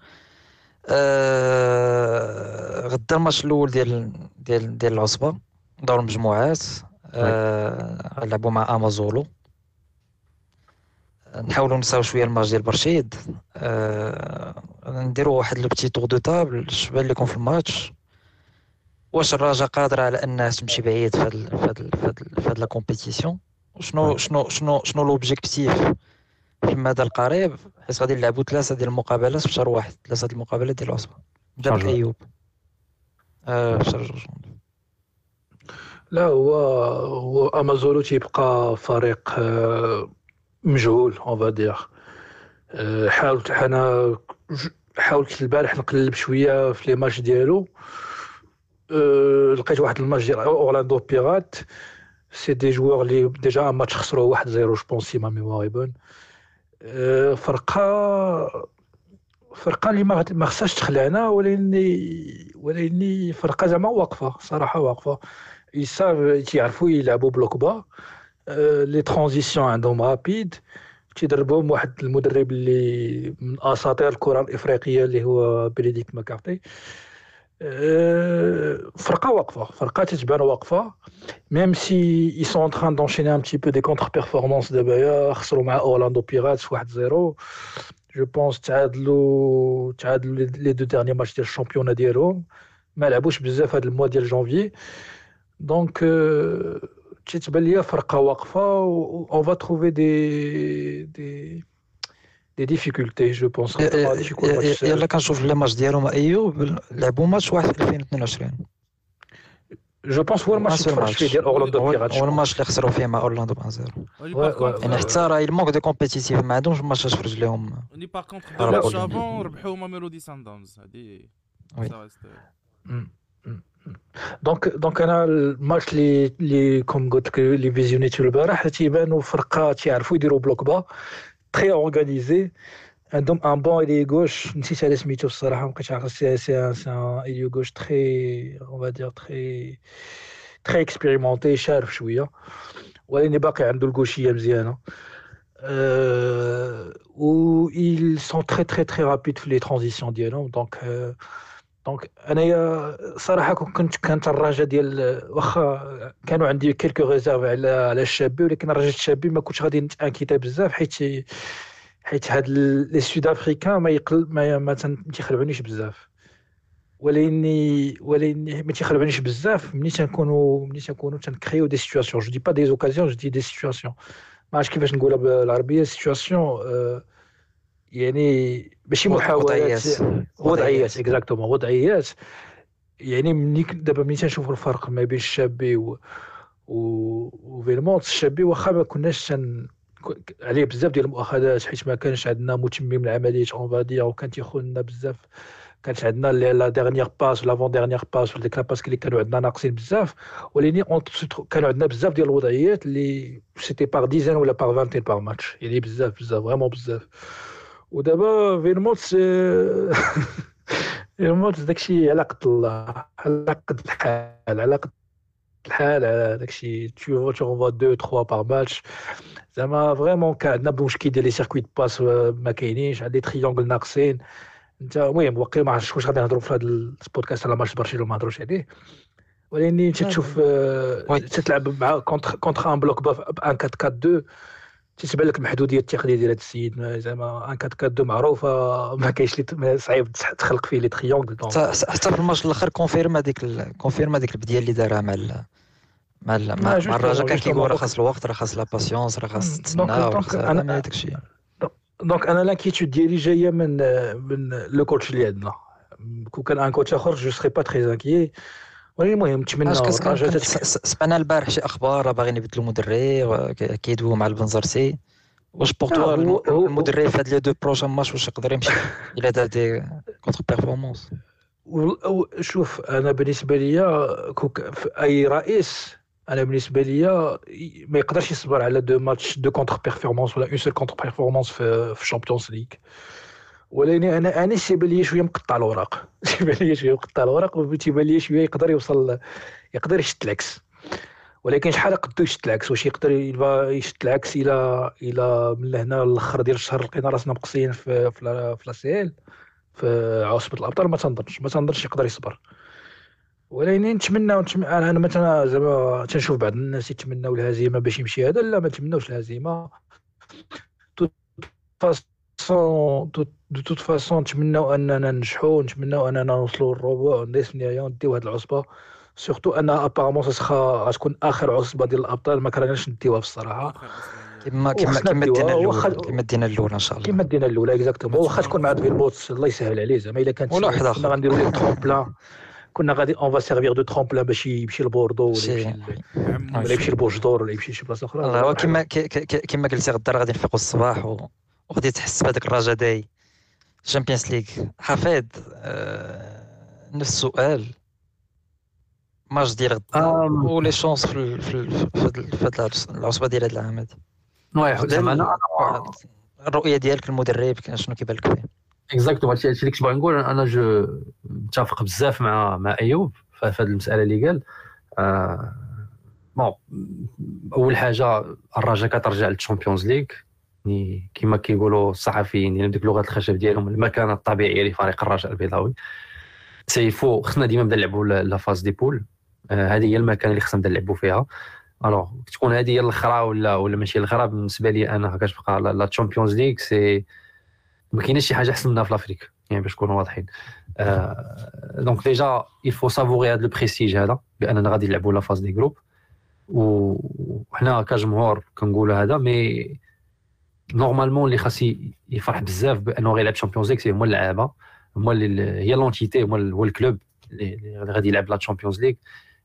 آه... غدا الماتش الاول ديال ديال ديال العصبه دور المجموعات آه... غنلعبوا مع امازولو. نحاولوا نساو شويه الماتش ديال برشيد آه... نديروا واحد لو بتي تور دو طابل الشباب اللي يكون في الماتش واش الرجاء قادره على انها تمشي بعيد في هاد في هاد في هاد في هاد لا كومبيتيسيون شنو شنو شنو شنو لوبجيكتيف في المدى القريب حيت غادي نلعبوا ثلاثه ديال المقابلات في شهر واحد ثلاثه ديال المقابلات ديال العصبه نبدا بك ايوب اه في شهر جوج. لا هو هو امازولو تيبقى فريق آه، مجهول اون فادير. حاولت انا حاولت البارح نقلب شويه في لي ماتش ديالو أه لقيت واحد الماتش ديال اورلاندو بيرات سي دي جوار اللي ديجا ماتش خسروا واحد صفر جو بونسي ما ميموري بون. أه فرقه فرقه اللي ما ما خصهاش تخلعنا ولكن ولكن فرقه زعما واقفه صراحه واقفه يصاب تيعرفوا يلعبوا بلوك با. أه لي ترانزيسيون عندهم رابيد تيدربهم واحد المدرب اللي من اساطير الكره الافريقيه اللي هو بريديكت ماكارتي. أه فرقه واقفه فرقه تتبان واقفه ميم سي ils sont en train d'enchaîner un petit peu des contre-performances دابا خسروا مع اورلاندو بيراتس واحد صفر جو بونس تعادلوا تعادلوا لي دو ديرني ماتش ديال الشامبيون ديالهم ما لعبوش بزاف هذا الموا ديال جانفي دونك أه تتبان ليا فرقه واقفه و on va trouver des des des difficultés je pense. يلا كنشوف لي ماتش ديالهم ايوب لعبوا ماتش واحد في ألفين واثنين وعشرين جو بونس هو الماتش تفرج فيه ديال اورلاندو بيراتس هو الماتش اللي خسروا فيه مع اورلاندو واحد صفر يعني حتى راه المونك دو كومبيتيتيف ما عندهمش ماتشات في رجليهم. ني باغ كونطخ دو ماتش افون ربحوا ماميلودي سانداونز هادي دونك دونك انا الماتش اللي اللي كوم قلت لك اللي فيزيونيتو البارح تيبانوا فرقه تيعرفوا يديروا بلوك با تري اورغانيزي عندهم ان بون ايلي غوش نسيت على سميتو الصراحه ما بقيتش عارف سي سي سي ايلي غوش تري اون فا دير تري تري اكسبيريمونتي شارف شويه ولكن باقي عنده الغوشيه مزيانه أه و ils sont très très très rapides في لي ترانزيسيون ديالهم دونك دونك انايا صراحه كنت كانت الرجاء ديال واخا كانوا عندي كيلكو ريزيرف على على الشابي ولكن الرجاء الشابي ما كنتش غادي نتانكيتا بزاف حيت حيت هاد لي سود افريكان ما يقل ما ما تيخلعونيش بزاف ولكن ولكن ما تيخلعونيش بزاف ملي تنكونوا ملي تنكونوا تنكريو دي سيتوياسيون جو دي با دي اوكازيون جو دي دي سيتوياسيون ما عرفتش كيفاش نقولها بالعربيه سيتوياسيون أه يعني ماشي محاولات وضعيات اكزاكتومون وضعيات يعني ملي دابا ملي تنشوفوا الفرق ما بين الشابي و و فيلمونت الشابي واخا ما كناش تن عليه بزاف ديال المؤاخذات حيت ما كانش عندنا متمم العمليات اون فادير وكان تيخوننا بزاف كانت عندنا لا ديرنيير باس لافون ديرنيير باس وديك لا باس اللي كانوا عندنا ناقصين بزاف ولكن كانوا عندنا بزاف ديال الوضعيات اللي سيتي باغ ديزان ولا باغ فانتين باغ ماتش يعني بزاف بزاف فريمون بزاف ودابا فيلموت فيلموت داكشي على قد الله على قد الحال على قد الحال على داكشي تو فوا دو ثلاثة باغ ماتش زعما فريمون كان عندنا مشكل ديال لي سيركويت باس ما كاينينش عندي تريونغل ناقصين انت المهم واقيلا ما عرفتش واش غادي نهضروا في هذا البودكاست على ماتش برشلونه ما هضروش عليه ولكن تشوف تتلعب مع كونتر كونتر ان بلوك با ان أربعة أربعة اثنين تتبان لك المحدوديه التقنيه ديال هذا السيد زعما ان كات كادو معروفه ما كاينش لي صعيب تخلق فيه لي تريونغل حتى حتى في الماتش الاخر كونفيرم هذيك كونفيرم هذيك البديه اللي دارها مع ال... مع ال... مع, مع الرجاء كان كيقول راه خاص الوقت راه خاص لا باسيونس راه خاص تسنى راه خاص هذا هذاك الشيء. دونك انا لانكيتود ديالي جايه من من لو كوتش اللي عندنا كون كان ان كوتش اخر جو سري با تري انكي. ولكن المهم نتمنى الرجاء سمعنا البارح شي اخبار باغيين يبدلوا مدرب كيدويو مع البنزرتي. واش بور توا المدرب في هاد لي دو بروجين ماتش واش يقدر يمشي الى دار دي كونتر بيرفورمانس؟ شوف انا بالنسبه ليا اي رئيس انا بالنسبه ليا ما يقدرش يصبر على دو ماتش دو كونتر بيرفورمانس ولا اون سول كونتر بيرفورمانس في في الشامبيونز ليغ. ولكن انا انا تيبان لي شويه مقطع الوراق تيبان لي شويه مقطع الوراق وتيبان لي شويه يقدر يوصل يقدر يشد العكس. ولكن شحال قدو يشد العكس؟ واش يقدر يشد العكس الى الى من لهنا للاخر ديال الشهر لقينا راسنا مقصيين في في في لاسيل في عاصمه الابطال؟ ما تنظنش ما تنظنش يقدر يصبر. ولكن نتمنى انا مثلا زعما تنشوف بعض الناس يتمناو الهزيمه باش يمشي هذا. لا ما نتمناوش الهزيمه تو فاسون دو توت فاسون. نتمناو اننا ننجحوا نتمناو اننا نوصلوا للربع ونصف النهائي ونديو هذه العصبه سورتو ان ابارامون سخا غتكون اخر عصبه ديال الابطال ما كرهناش نديوها بصراحه كما كما كما دينا الاولى كما دينا الاولى ان شاء الله كما دينا الاولى اكزاكتومون. واخا تكون مع فيلموتس الله يسهل عليه زعما الا كانت كنا غنديروا ليه ترومبلان كنا غادي اون فا سيرفير دو ترومبلان باش يمشي لبوردو ولا يمشي ولا يمشي لبوجدور ولا يمشي لشي بلاصه اخرى. الله كما كما قلتي غدا غادي نفيقوا الصباح وغادي تحس بهذاك الرجاء داي الشامبيونز ليغ. حفيظ نفس السؤال ماتش ديال غدا ولي شونس في في في العصبه ديال هذا العام هذه. وي زعما انا الرؤيه ديالك المدرب شنو كيبان لك فيه؟ اكزاكتومون هادشي اللي كنت باغي نقول. انا جو متفق بزاف مع مع ايوب في هذه المساله اللي قال. آه بون اول حاجه الرجاء كترجع للشامبيونز ليغ يعني كما كيقولوا الصحفيين يعني بديك لغه الخشب ديالهم المكانه الطبيعيه لفريق الرجاء البيضاوي. سيفو خصنا ديما نبدا نلعبوا لا فاز دي بول. هذه هي المكان اللي خصنا نبدا نلعبوا فيها. الوغ تكون هذه هي الاخرى ولا ولا ماشي الاخرى بالنسبه لي انا كتبقى لا تشامبيونز ليغ سي ما كاينش شي حاجه احسن منها في افريقيا يعني باش نكونوا واضحين. دونك ديجا يفو سافوري هذا البريستيج هذا باننا غادي نلعبوا لا فاز دي جروب. وحنا كجمهور كنقولوا هذا مي نورمالمون اللي خاص يفرح بزاف بانه غيلعب تشامبيونز ليغ سي هما اللعابه هما اللي هي لونتيتي هو الكلوب اللي غادي يلعب لا تشامبيونز ليغ.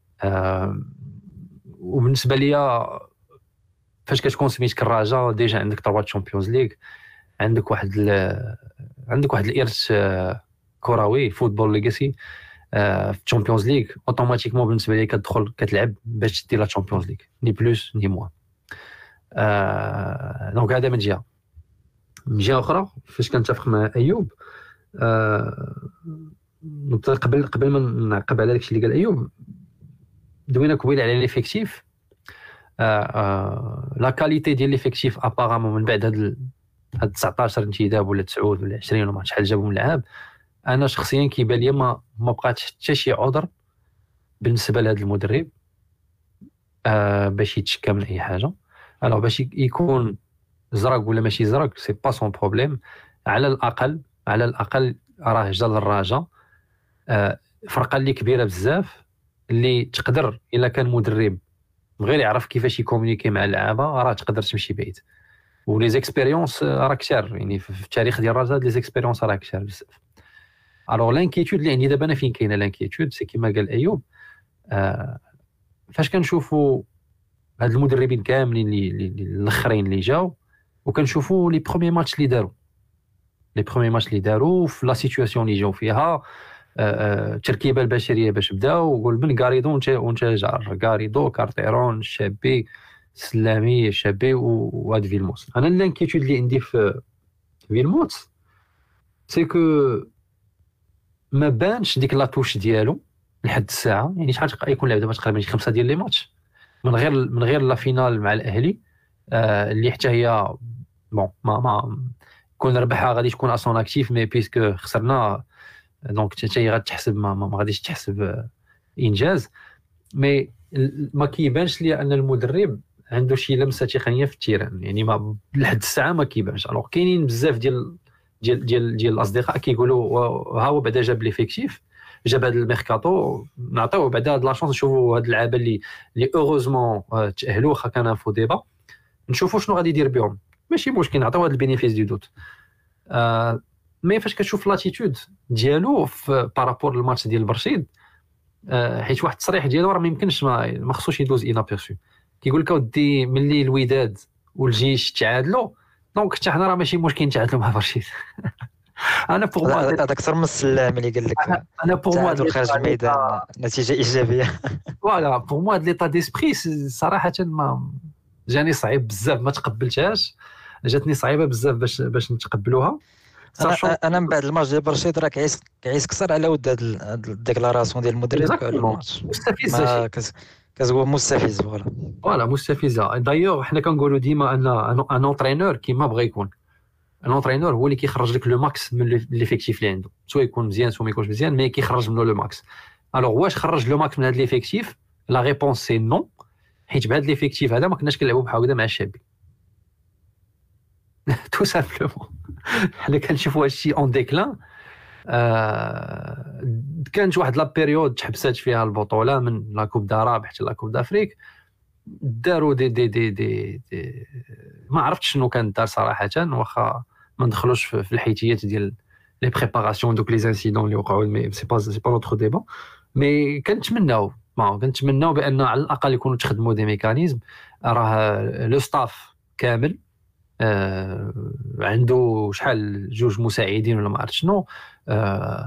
وبالنسبه ليا فاش كتكون سميتك الرجاء ديجا عندك ثلاثه تشامبيونز ليغ عندك واحد عندك واحد الارث كروي فوتبول ليغاسي في الشامبيونز ليغ اوتوماتيكمون بالنسبه لي كتدخل كتلعب باش دير لا تشامبيونز ليغ ني بلوس ني موان. دونك هذا من جهه. من جهه اخرى فاش كنتفق مع ايوب قبل قبل ما نعقب على داكشي اللي قال ايوب دوينا قبيل على ليفيكتيف. لا كاليتي ديال ليفيكتيف ابارامون من بعد هاد هاد تسعطاش انتداب ولا تسعة ولا عشرين ولا شحال جابوا من لعاب انا شخصيا كيبان لي ما ما بقاتش حتى شي عذر بالنسبه لهذا المدرب آه باش يتشكى من اي حاجه. الوغ باش يكون زرق ولا ماشي زرق سي با سون بروبليم. على الاقل على الاقل راه جا للرجاء آه فرقه اللي كبيره بزاف اللي تقدر الا كان مدرب غير يعرف كيفاش يكومونيكي مع اللعابه راه تقدر تمشي بعيد. ولي زيكسبيريونس راه كثار يعني في التاريخ ديال الرجاء لي زيكسبيريونس راه كثار بزاف. الوغ لانكيتود اللي عندي دابا انا فين كاينه لانكيتود سي كيما قال ايوب آه فاش كنشوفوا هاد المدربين كاملين اللي الاخرين اللي جاو وكنشوفوا لي بروميي ماتش اللي داروا لي بروميي ماتش اللي داروا في لا سيتوياسيون اللي جاو فيها التركيبه آه البشريه باش بداو وقول من غاريدو وانت جار غاريدو كارتيرون شابي سلامي شابي وهاد فيلموس. انا لانكيتود اللي عندي في فيلموس سي كو ما بانش ديك لاتوش ديالو لحد الساعه يعني شحال يكون لعب دابا تقريبا شي خمسه ديال لي ماتش من غير من غير لا فينال مع الاهلي آه اللي حتى هي بون ما ما كون ربحها غادي تكون اسون اكتيف مي بيسكو خسرنا دونك حتى هي غتحسب ما, ما غاديش تحسب انجاز. مي ما كيبانش لي ان المدرب عنده شي لمسه تقنيه في التيران، يعني ما لحد الساعه ما كيبانش. الوغ كاينين بزاف ديال ديال ديال ديال الاصدقاء كيقولوا ها هو بعدا جاب ليفيكتيف، جاب هذا الميركاتو، نعطيوه بعدا هاد لا شونس نشوفوا هاد اللعابه اللي اللي اوروزمون تاهلوا، واخا كان انفو ديبا نشوفوا شنو غادي يدير بهم. ماشي مشكل نعطيوه هاد البينيفيس دي دوت. آه مي فاش كتشوف لاتيتود ديالو في بارابور للماتش ديال برشيد، آه حيت واحد التصريح ديالو راه ما يمكنش ما, ما خصوش يدوز انابيرسو. كيقول لك اودي ملي الوداد والجيش تعادلوا دونك حتى حنا راه ماشي مشكل نتعادلوا مع برشيد. انا بوغ موا هذاك اكثر من السلام اللي قال لك انا بوغ موا تعادل خارج الميدان نتيجه ايجابيه. فوالا بوغ موا هاد ليطا ديسبري صراحه ما جاني صعيب بزاف، ما تقبلتهاش، جاتني صعيبه بزاف باش باش نتقبلوها. انا انا من بعد الماتش ديال برشيد راه كيعيس كيعيس كثر على ود هاد الديكلاراسيون ديال المدرب على الماتش. مستفزه كتقول مستفز. فوالا فوالا مستفزه. دايوغ حنا كنقولوا ديما ان ان اونترينور كيما بغى يكون، ان اونترينور هو اللي كيخرج لك لو ماكس من ليفيكتيف اللي عنده، سواء يكون مزيان سواء ما يكونش مزيان، مي كيخرج منه لو ماكس. الوغ واش خرج لو ماكس من هذا ليفيكتيف؟ لا ريبونس سي نو، حيت بهذا ليفيكتيف هذا ما كناش كنلعبوا بحال هكذا مع الشابي. تو سامبلومون حنا كنشوفوا هادشي اون ديكلان. آه كانت واحد لا بيريود تحبسات فيها البطوله من لا كوب داراب حتى لا كوب دافريك، داروا دي دي دي دي, دي ما عرفتش شنو كان دار صراحه، واخا ما ندخلوش في الحيتيات ديال لي بريباراسيون دوك لي انسيدون اللي وقعوا، مي سي با سي با نوتر ديبا. مي كنتمناو ما كنتمناو بان على الاقل يكونوا تخدموا دي ميكانيزم. راه لو ستاف كامل آه عنده شحال جوج مساعدين ولا ما عرفت شنو، آه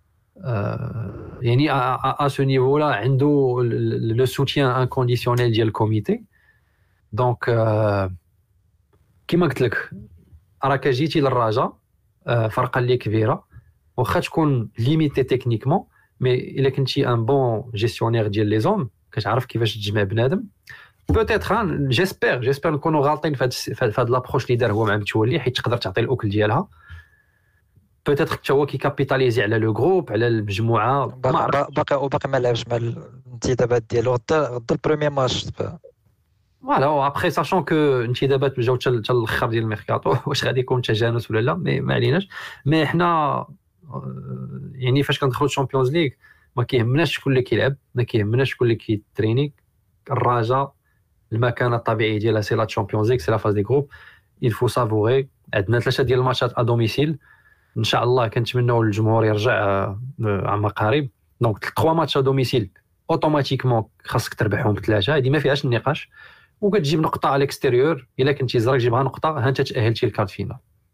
آه يعني ا سو نيفو لا عنده لو سوتيان انكونديسيونيل ديال الكوميتي. دونك آه كما قلت لك راك جيتي للرجاء، آه فرقه اللي كبيره واخا تكون ليميتي تكنيكمون، مي الا كنتي ان بون جيستيونير ديال لي زون كتعرف كيفاش تجمع بنادم. بوتيتر جيسبر جيسبر نكونوا غالطين في هاد في هاد لابروش اللي دار هو مع متولي، حيت تقدر تعطي الاكل ديالها. بوتيتر حتى هو كيكابيتاليزي على لو جروب على المجموعه. باقي وباقي ما لعبش مع الانتدابات ديالو غدا غدا البروميير ماتش. فوالا ابخي ساشون كو انتدابات جاو حتى الاخر ديال الميركاتو، واش غادي يكون تجانس ولا لا مي ما عليناش. مي حنا يعني فاش كندخلوا الشامبيونز ليغ ما كيهمناش شكون اللي كيلعب، ما كيهمناش شكون اللي كيتريني. الرجاء المكانه الطبيعيه ديالها سي لا تشامبيونز ليغ، سي لا فاز دي جروب. il faut savourer. عندنا ثلاثه ديال الماتشات ا دوميسيل ان شاء الله، كنتمناو الجمهور يرجع عما قريب. دونك ثلاثه ماتش ا دوميسيل اوتوماتيكمون خاصك تربحهم بثلاثه، هذه ما فيهاش النقاش. وكتجيب نقطه على الاكستيريور، الا كنتي زرك جيبها نقطه ها انت تاهلتي للكارت فينال.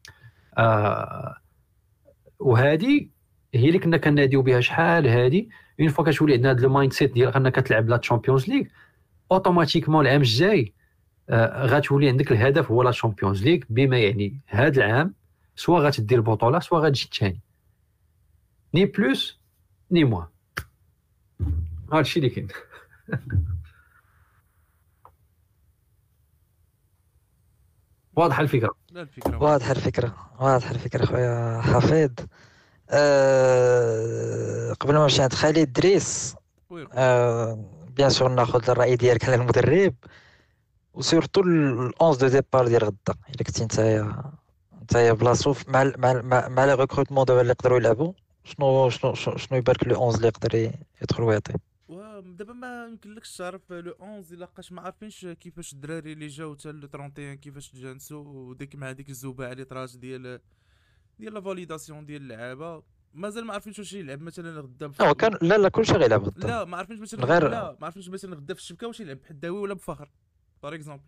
آه وهذه هي اللي كنا كناديو بها شحال هذه. اون فوا كتولي عندنا هذا المايند سيت ديال انك كتلعب لا تشامبيونز ليغ اوتوماتيكمون العام الجاي آه غتولي عندك الهدف هو لا تشامبيونز ليغ، بما يعني هذا العام سواء غتدير البطوله سواء غتجي الثاني، ني بلوس ني موان. هادشي اللي كاين. واضحه الفكره؟ لا الفكره واضحه الفكره واضحه الفكره خويا حفيظ. أه قبل ما نمشي عند خالد دريس، أه بيان سور ناخذ الراي ديالك على المدرب وسورتو الأونز دو ديبار ديال غدا. الا كنتي نتايا نتايا بلاصو مع مع مع لي ريكروتمون دابا اللي يقدروا يلعبوا، شنو شنو شنو يبارك لو أونز اللي يقدر يدخل ويعطي؟ دابا ما يمكنلكش تعرف لو أونز الا لقاش ما عارفينش كيفاش الدراري اللي جاو حتى ل واحد وثلاثين كيفاش تجانسوا، وديك مع ديك الزوبعه اللي طراج ديال ديال لا فاليداسيون ديال اللعابه مازال ما عارفينش واش يلعب مثلا غدا. لا كان لا لا كلشي غيلعب غدا. لا ما عارفينش مثلا غير لا ما عارفينش مثلا غدا في الشبكه واش يلعب بحداوي ولا بفخر بار اكزومبل.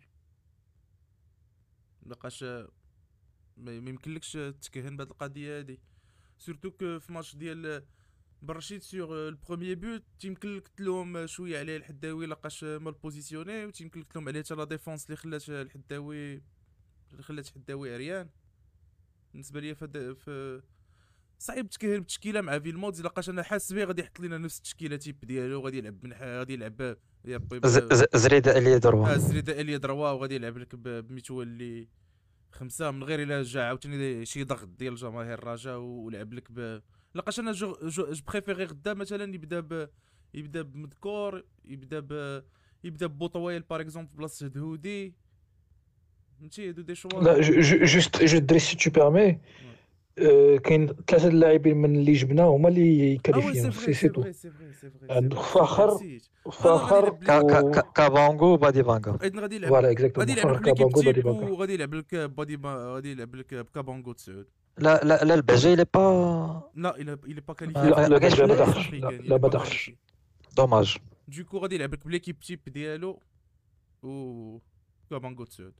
لقاش ما يمكنلكش تكهن بهذه القضيه هذه، سورتو كو في ماتش ديال برشيد سيغ البروميير بوت تيمكن لك تلوم شويه عليه الحداوي لقاش مال بوزيسيوني، وتيمكن لك تلوم عليه حتى لا ديفونس اللي خلات الحداوي اللي خلات الحداوي عريان. بالنسبه ليا في صعيب تكهن بتشكيله مع فيلموت، لقاش انا حاسس به غادي يحط لنا نفس التشكيله تيب ديالو، غادي يلعب من غادي يلعب زريده اليا دروا اه زريده اليا دروا وغادي يلعب لك بمتولي خمسه من غير الا جا عاوتاني شي ضغط ديال جماهير الرجاء ولعب لك ب... لقاش انا جو جو بريفيري غدا مثلا يبدا ب يبدا بمذكور، يبدا ب يبدا بوطويل باغ اكزومبل بلاصه هدهودي فهمتي هادو دي شوا لا جو- جو- جوست جو دري سي تو بيرمي. آه، كاين ثلاثه اللاعبين من اللي جبنا هما اللي اه وي سي كاليفيو فري سي سي سي تو. فري سي فري سي فري سي عند فري فاخر نسيت فوالا غادي فاخر يلعب كا كا لك كا كابونغو وبادي فانغا. ايضا غادي يلعب فوالا غادي اكزاكتومون يلعب لك فاخر ليكيب كابانغو بادي تيب بانكا. وغادي يلعب لك بادي با... غادي يلعب لك بكابونغو تسعود. لا لا لا البهجه اللي با لا il a il est pas qualifié ما- لا ما- لا ما كاينش بجا في ما ال- دخلش. لا africaine, il لا est ما pas دخلش. qualifié. دوماج. دوكو غادي يلعب لك بليكيب تيب ديالو و كابونغو تسعود.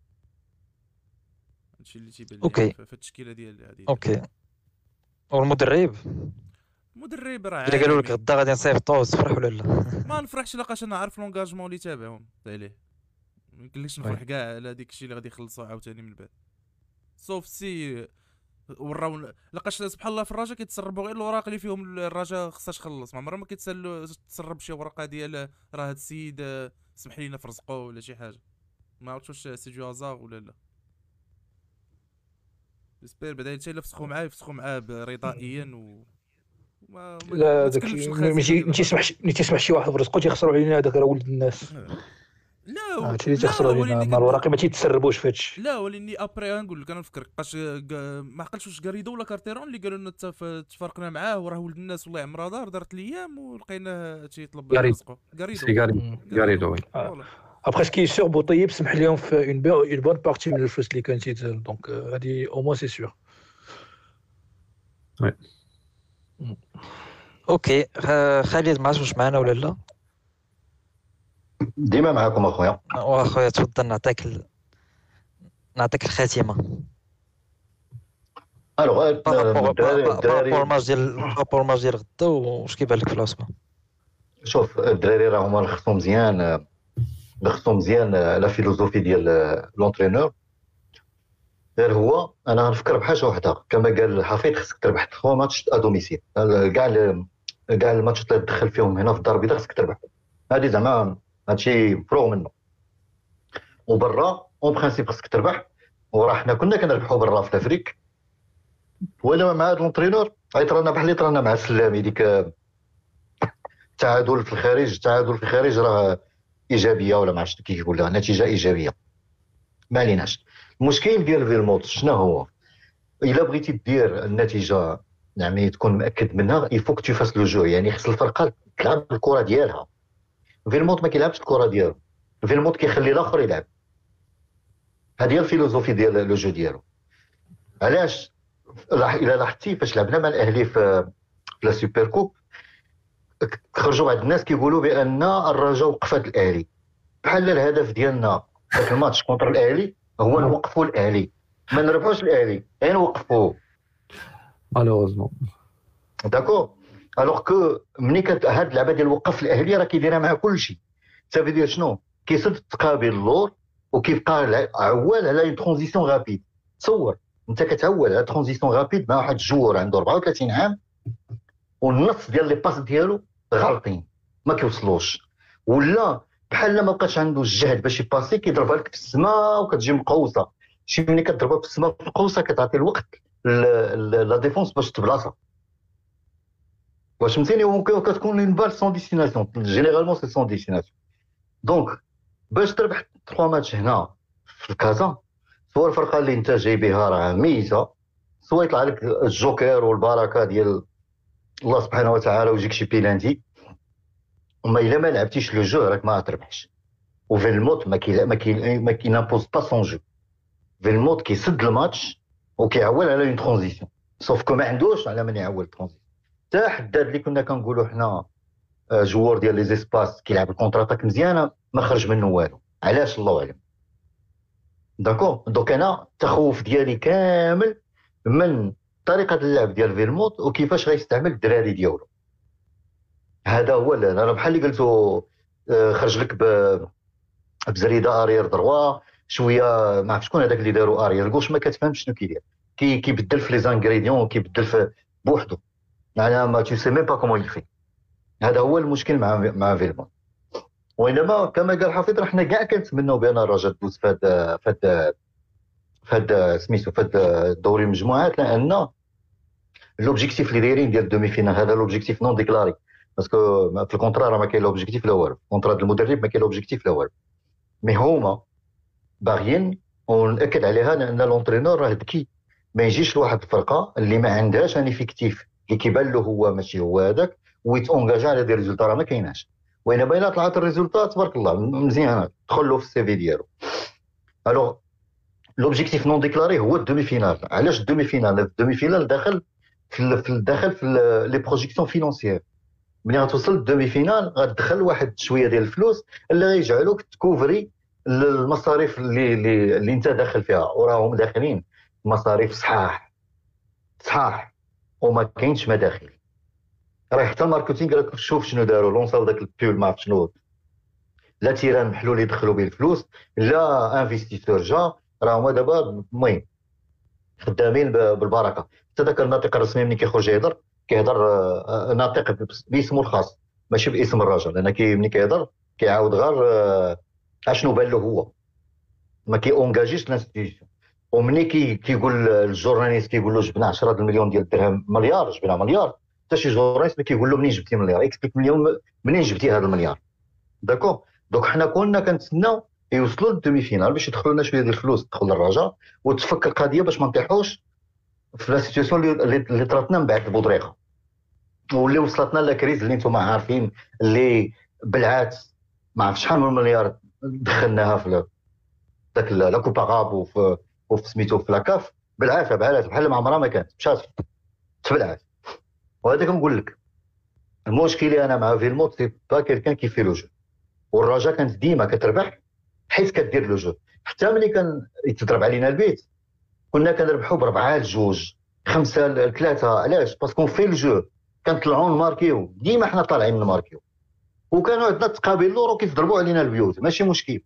هادشي اللي تيبان لي أوكي. في في التشكيله ديال هادي. اوكي. والمدرب المدرب راه الا قالوا لك عالمي. غدا غادي نصيفطوه تفرح ولا لا؟ ما نفرحش لقاش انا عارف لونغاجمون اللي تابعهم عليه، ما يمكنليش نفرح كاع على ديك الشيء اللي غادي يخلصوا عاوتاني من بعد. سوف سي وراو لقاش سبحان الله في الرجاء كيتسربوا غير الاوراق اللي فيهم الرجاء خصها تخلص، ما عمرها ما كيتسالوا تسرب شي ورقه ديال راه هاد السيد آه، سمح لينا في رزقه ولا شي حاجه. ما عرفتش واش سي جو هازار ولا لا. جيسبر بعدا حتى الا فسخوا معاه يفسخوا معاه رضائيا و ما ما- لا ما داك تكلفش الشيء الخزينة ماشي ديال ما تيسمحش ما تيسمح شي واحد برزقو تيخسروا علينا هذاك راه ولد الناس. لا و- هادشي اللي تيخسروا لا علينا وليني ما كد- الوراقي ما تيتسربوش في هادشي. لا ولاني ابري نقول لك انا نفكر بقاش قا- ما عقلتش واش غاريدو ولا كارتيرون اللي قالوا لنا تف- تفارقنا معاه وراه ولد الناس والله عمرها دار دارت الايام ولقيناه تيطلب غاريدو. رزقه. غاريدو سي غاري غاريدو وي. فوالا. ابخي سكي سور بوطيب سمح لهم في اون اون بون بارتي من الفلوس اللي كانت تيتسال دونك هادي او موان سي سور. اوكي. خ- خالد ما عرفتش واش معنا ولا لا. ديما معاكم اخويا. واخويا تفضل نعطيك ال... نعطيك الخاتمه. الوغ بارابور الدراري بارابور الدراري الماتش ديال بارابور الماتش ديال غدا واش كيبان لك في العصبه؟ شوف الدراري راه هما خصهم مزيان خصهم مزيان لا فيلوزوفي ديال لونترينور. غير هو انا غنفكر بحاجه واحده كما قال حفيظ خصك تربح ثلاثة ماتش ا دوميسيل. كاع ال- كاع الماتشات اللي تدخل فيهم هنا في الدار البيضاء خصك تربح. هذه زعما هادشي مفروغ منه. وبرا اون برانسيب خصك تربح. وراه حنا كنا كنربحوا برا في الافريك ولا مع هذا لونترينور عيطرانا بحال اللي طرانا مع السلامي ديك التعادل في الخارج. التعادل في الخارج راه ايجابيه ولا ما عرفتش كيف يقولها نتيجه ايجابيه. ما عليناش. المشكل ديال فيلموت شنو هو؟ الا بغيتي دير النتيجه يعني تكون مأكد منها يفوك تو فاس لو جو، يعني خص الفرقه تلعب الكره ديالها. فيلموت ما كيلعبش الكره ديالو، فيلموت كيخلي الاخر يلعب. هذه هي الفيلوزوفي ديال لو جو ديالو. علاش الا لاحظتي فاش لعبنا مع الاهلي في في لا سوبر كوب خرجوا بعض الناس كيقولوا بان الرجاء وقف هذا الاهلي بحال الهدف ديالنا في الماتش كونتر الاهلي هو نوقفوا الاهلي، ما نربحوش الاهلي غير نوقفوه. مالوغوزمون داكور. الوغ كو ملي كت هاد اللعبه ديال وقف الاهلي راه كيديرها مع كلشي. سافي دير شنو؟ كيسد تقابل اللور وكيبقى عوال على اون ترانزيسيون غابيد. تصور انت كتعول على ترانزيسيون غابيد مع واحد الجوار عنده أربعة وثلاثين عام والنص ديال لي باس ديالو غالطين ما كيوصلوش، ولا بحال ما بقاش عنده الجهد باش يباسي كيضربها لك في السماء وكتجي مقوصه. شي ملي كتضربها في السماء في القوسه كتعطي الوقت لا ديفونس باش تبلاصه. واش فهمتيني؟ ممكن كتكون اون بال سون ديستيناسيون جينيرالمون سي سون ديستيناسيون. دونك باش تربح ثلاثة ماتش هنا في كازا سواء الفرقه اللي انت جاي بها راه ميته سواء يطلع لك الجوكر والبركه ديال الله سبحانه وتعالى ويجيك شي بيلانتي، وما الا ما لعبتيش لو جو راك ما تربحش. وفيلموت ما كي ما كي ما كينابوز با سون جو. فيلموت كيسد الماتش وكيعول على اون ترانزيسيون سوف كو ما عندوش على من يعول ترانزيسيون. حتى حداد اللي كنا كنقولوا حنا جوار ديال لي زيسباس كيلعب الكونتر اتاك مزيانه ما خرج منه والو. علاش؟ الله اعلم. داكور. دونك انا التخوف ديالي كامل من طريقه اللعب ديال فيلموت وكيفاش غيستعمل الدراري ديالو. هذا هو انا بحال اللي قلتو خرج لك بزريده ارير دروا شويه ما عرف شكون هذاك اللي داروا ارير كوش ما كتفهمش شنو كيدير كي كيبدل في لي زانغريديون كيبدل في بوحدو يعني ما تو سي ميم با كومون يفي. هذا هو المشكل مع مع فيلمون. وانما كما قال حفيظ راه حنا كاع كنتمناو بان الرجاء تدوز في هذا في هذا في هذا سميتو في هذا دوري المجموعات، لان لوبجيكتيف اللي دايرين ديال الدومي فينال هذا لوبجيكتيف نون ديكلاري باسكو في الكونترا راه ما كاين لوبجيكتيف لا والو، الكونترا ديال المدرب ما كاين لوبجيكتيف لا والو، مي هما باغيين ونأكد عليها لان لونترينور راه ذكي، ما يجيش لواحد الفرقه اللي ما عندهاش ان افيكتيف اللي كيبان له هو ماشي هو هذاك ويتونجاجا على دي ريزولطا، راه ما كايناش. وإنما الا طلعت الريزولطا تبارك الله مزيانه دخل له في السي في ديالو. الوغ لوبجيكتيف نون ديكلاري هو الدومي فينال. علاش الدومي فينال؟ الدومي فينال داخل في الداخل في لي بروجيكسيون فينونسيير. ملي غتوصل للدومي فينال غتدخل واحد شويه ديال الفلوس اللي غيجعلوك تكوفري المصاريف اللي اللي, اللي انت داخل فيها، وراهم داخلين مصاريف صحاح صحاح وما كاينش مداخل. راه حتى الماركتينغ راك شوف شنو داروا، لونساو داك البيول ما عرف شنو، لا تيران محلول يدخلوا به الفلوس لا انفستيسور جا، راه هما دابا المهم خدامين بالبركه. حتى داك الناطق الرسمي ملي كيخرج يهضر كيهضر ناطق باسمه الخاص ماشي باسم الرجل، لان كي ملي كيهضر كيعاود غير اشنو بان له هو، ما كي اونجاجيش الانستيتيوشن. ومني كي كيقول الجورناليست كيقول له جبنا عشرة المليون ديال الدرهم مليار جبنا مليار، حتى شي جورناليست ما كيقول له منين جبتي مليار، اكسبليك مليون منين جبتي هذا المليار. داكو دوك حنا كنا كنتسناو يوصلوا للدومي فينال باش يدخلوا لنا شويه ديال الفلوس تدخل للرجاء وتفك القضيه باش ما نطيحوش في لا سيتوياسيون اللي اللي طراتنا من بعد البودريقه واللي وصلتنا لا كريز اللي نتوما عارفين، اللي بالعكس ما عرف شحال من مليار دخلناها في داك لا كوبا غاب وفي وفي سميتو في لاكاف بالعافيه بحال بحال ما عمرها ما كانت مشات بالعافيه. وهذا كنقول لك المشكله انا مع فيلموت سي با كيلكان كيفي لو جو، والرجاء كانت ديما كتربح حيت كدير لو جو. حتى ملي كان يتضرب علينا البيت كنا كنربحوا بربعه لجوج خمسه لثلاثه. علاش؟ باسكو في الجو كنطلعوا نماركيو، ديما حنا طالعين نماركيو، وكانوا عندنا تقابل لورو كيضربوا علينا البيوت ماشي مشكل.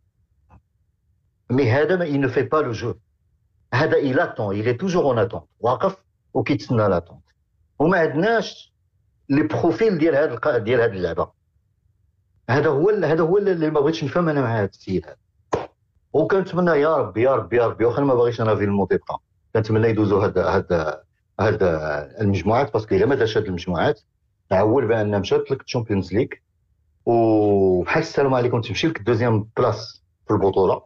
مي هذا ما ينو في با لو جو، هذا إلا طون إلي توجور اون اتونت واقف وكيتسنى لاتونت، وما عندناش لي بروفيل ديال هذا ديال هذه اللعبه. هذا هو هذا هو اللي ما بغيتش نفهم انا مع هذا السيد هذا. وكنتمنى يا ربي يا ربي يا ربي، واخا ما باغيش انا في الموت يبقى، كنتمنى يدوزوا هاد هاد هاد المجموعات، باسكو الا ما داش هاد المجموعات عول بان مشات لك الشامبيونز ليغ وبحال السلام عليكم تمشي لك الدوزيام بلاص في البطوله.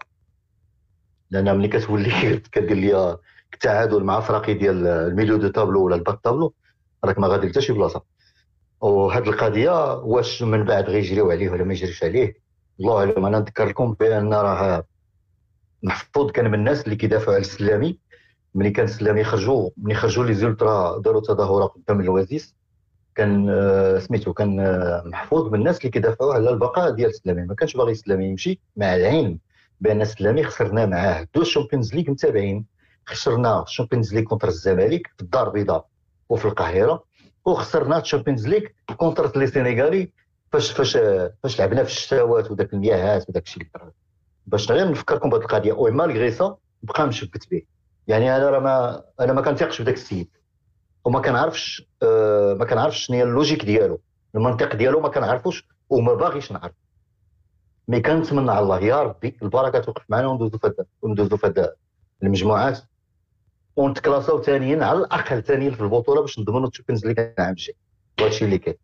لان ملي كتولي كدير ليا التعادل مع فراقي ديال الميليو دو تابلو ولا الباك تابلو راك ما غادي حتى شي بلاصه. وهاد القضيه واش من بعد غيجريو عليه ولا ما يجريش عليه الله اعلم. انا نذكر لكم بان راه محفوظ كان من الناس اللي كيدافعوا على السلامي. ملي كان السلامي خرجوا ملي خرجوا لي زولترا داروا تظاهره قدام الوازيس، كان آه سميتو كان آه محفوظ من الناس اللي كيدافعوا على البقاء ديال السلامي، ما كانش باغي السلامي يمشي، مع العلم بان السلامي خسرنا معاه دو شامبيونز ليغ متابعين. خسرنا الشامبيونز ليغ كونتر الزمالك في الدار البيضاء وفي القاهره، وخسرنا الشامبيونز ليغ كونتر لي سينيغالي فاش فاش فاش لعبنا في الشتاوات وداك المياهات وداك الشيء. باش غير نفكركم بهذه القضيه، او مالغري سا بقى مشبت به. يعني انا راه ما انا ما كنثقش بداك السيد، وما كنعرفش آه ما كنعرفش شنو هي اللوجيك ديالو، المنطق ديالو ما كنعرفوش وما باغيش نعرف. مي كنتمنى على الله يا ربي البركه توقف معنا وندوزو في وندوزو في المجموعات ونتكلاساو ثانيين على الاقل ثانيين في البطوله باش نضمنوا الشامبيونز ليغ العام الجاي. وهادشي اللي كاين.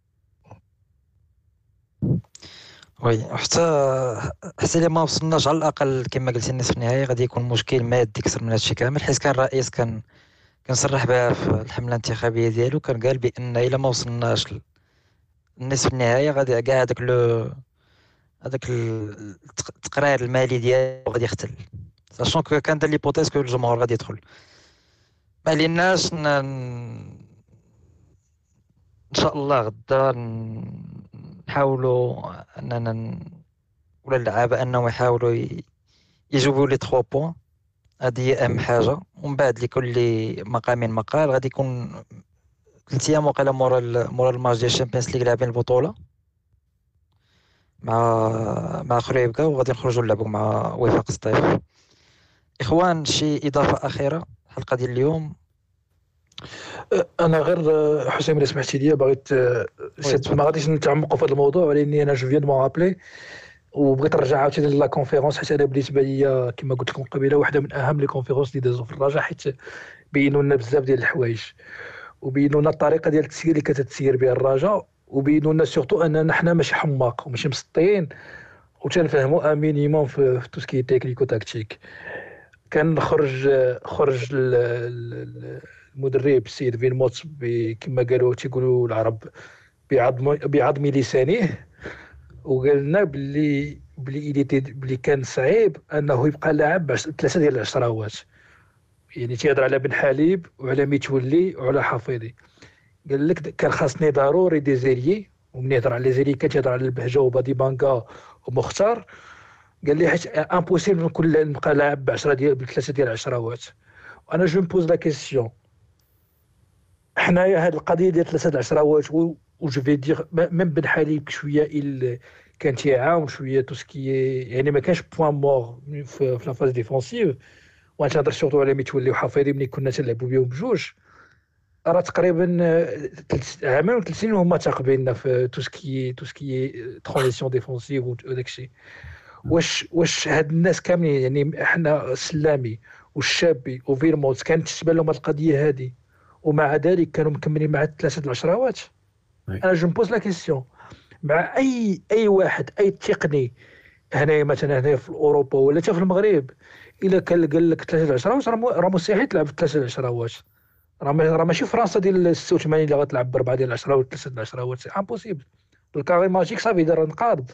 وي حتى حتى الا ما وصلناش على الاقل كما قلتي النصف النهائي غادي يكون مشكل مادي اكثر من هادشي كامل، حيت كان الرئيس كان كان صرح بها في الحمله الانتخابيه ديالو، كان قال بان الا ما وصلناش النصف النهائي غادي كاع هذاك لو هذاك التقرير المالي ديالو غادي يختل، ساشون كو كان دار ليبوتيز كو الجمهور غادي يدخل. ما عليناش ن... ان شاء الله غدا نحاولوا اننا ن... ولا اللعابه انهم يحاولوا ي... يجيبوا لي ثلاثة بوين، هذه هي اهم حاجه. ومن بعد لكل مقام مقال غادي يكون ثلاث ايام وقيله مورا ال... مورا الماتش ديال الشامبيونز ليغ لاعبين البطوله مع مع خريبكا، وغادي نخرجوا نلعبوا مع وفاق سطيف. اخوان شي اضافه اخيره الحلقه ديال اليوم؟ انا غير حسين اللي سمحتي لي بغيت ما غاديش نتعمقوا في هذا الموضوع، ولكن انا جو فيان مون رابلي وبغيت نرجع عاوتاني لا كونفيرونس، حيت انا بالنسبه لي كما قلت لكم قبيله واحده من اهم لي كونفيرونس اللي دازوا في الرجاء، حيت بينوا لنا بزاف ديال الحوايج وبينوا لنا الطريقه ديال التسيير اللي كتتسير بها الرجاء، وبينوا لنا سورتو اننا حنا ماشي حماق وماشي مسطيين وتنفهموا ان مينيموم في تو سكي تكنيكو تاكتيك. كان خرج خرج المدرب السيد فيلموت كما قالوا تيقولوا العرب بعظم بعظم لسانه، وقال لنا باللي باللي باللي كان صعيب انه يبقى لاعب ثلاثه ديال العشراوات. يعني تيهضر على بن حليب وعلى ميتولي وعلى حفيظي. قال لك كان خاصني ضروري دي زيريي، ومن يهضر على زيريي كتهضر على البهجه وبادي بانكا ومختار. قال لي حيت امبوسيبل نكون نبقى لاعب ب عشرة ديال بثلاثه ديال العشراوات. وانا جو مبوز لا كيسيون، حنايا هاد القضيه ديال ثلاثه د العشراوات و جو في دير ميم بن حليب شويه il كان تيعاون شويه تو سكي، يعني ما كانش بوان مور في لا فاز ديفونسيف. وغنهضر سورتو على ميتولي وحفيظي ملي كنا تنلعبوا بهم بجوج، راه تقريبا عامين وثلاث سنين هما تاقبيننا في تو سكي تو سكي ترانزيسيون ديفونسيف وداك الشيء. واش واش هاد الناس كاملين يعني حنا سلامي والشابي وفيرموت كانت تتبان لهم هاد القضيه هادي ومع ذلك كانوا مكملين مع ثلاثه د العشراوات؟ انا جو مبوز لا كيسيون مع اي اي واحد اي تقني هنايا مثلا هنايا في اوروبا ولا حتى في المغرب، الا كان قال لك ثلاثه د العشراوات راه مستحيل تلعب ثلاثه د العشراوات. راه راه ماشي فرنسا ديال ستة وثمانين اللي غتلعب بربعه ديال العشراوات ثلاثه د العشراوات، سي امبوسيبل. الكاري ماجيك صافي دار نقاد.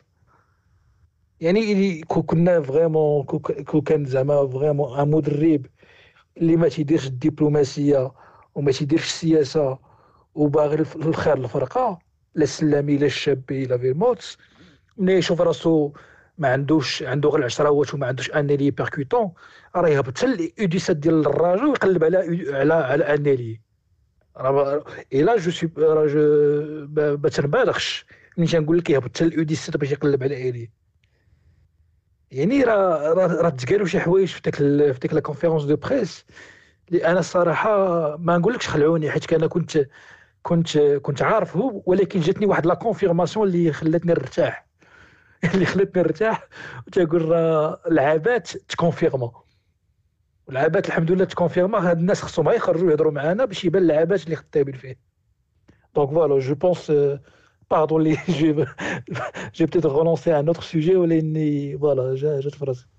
يعني كنا فريمون كو كان زعما فريمون ان مدرب اللي ما تيديرش الدبلوماسيه وما تيديرش السياسه وباغي الخير للفرقه، لا السلامي لا الشابي لا فيرموت، ملي يشوف راسو ما عندوش عنده غير العشراوات وما عندوش انيلي بيركوتون، راه يهبط حتى الاو دي سات ديال الراجل ويقلب على على على انيلي. راه الا جو سي راه جو ما تنبالغش ملي تنقول لك يهبط حتى الاو دي سات باش يقلب على انيلي. يعني راه راه تقالوا شي حوايج في ديك في ديك لا كونفيرونس دو بريس اللي انا الصراحه ما نقولكش خلعوني، حيت انا كنت كنت كنت عارفه، ولكن جاتني واحد لا كونفيرماسيون اللي خلاتني نرتاح اللي خلاتني نرتاح وتقول راه العابات تكونفيرما، والعابات الحمد لله تكونفيرما. هاد الناس خصهم غير يخرجوا يهضروا معنا باش يبان العابات اللي خدامين فيه. دونك فوالا جو بونس باردون لي جو جو بتيت رونونسي ان اوتر سوجي ولاني فوالا جات في راسي.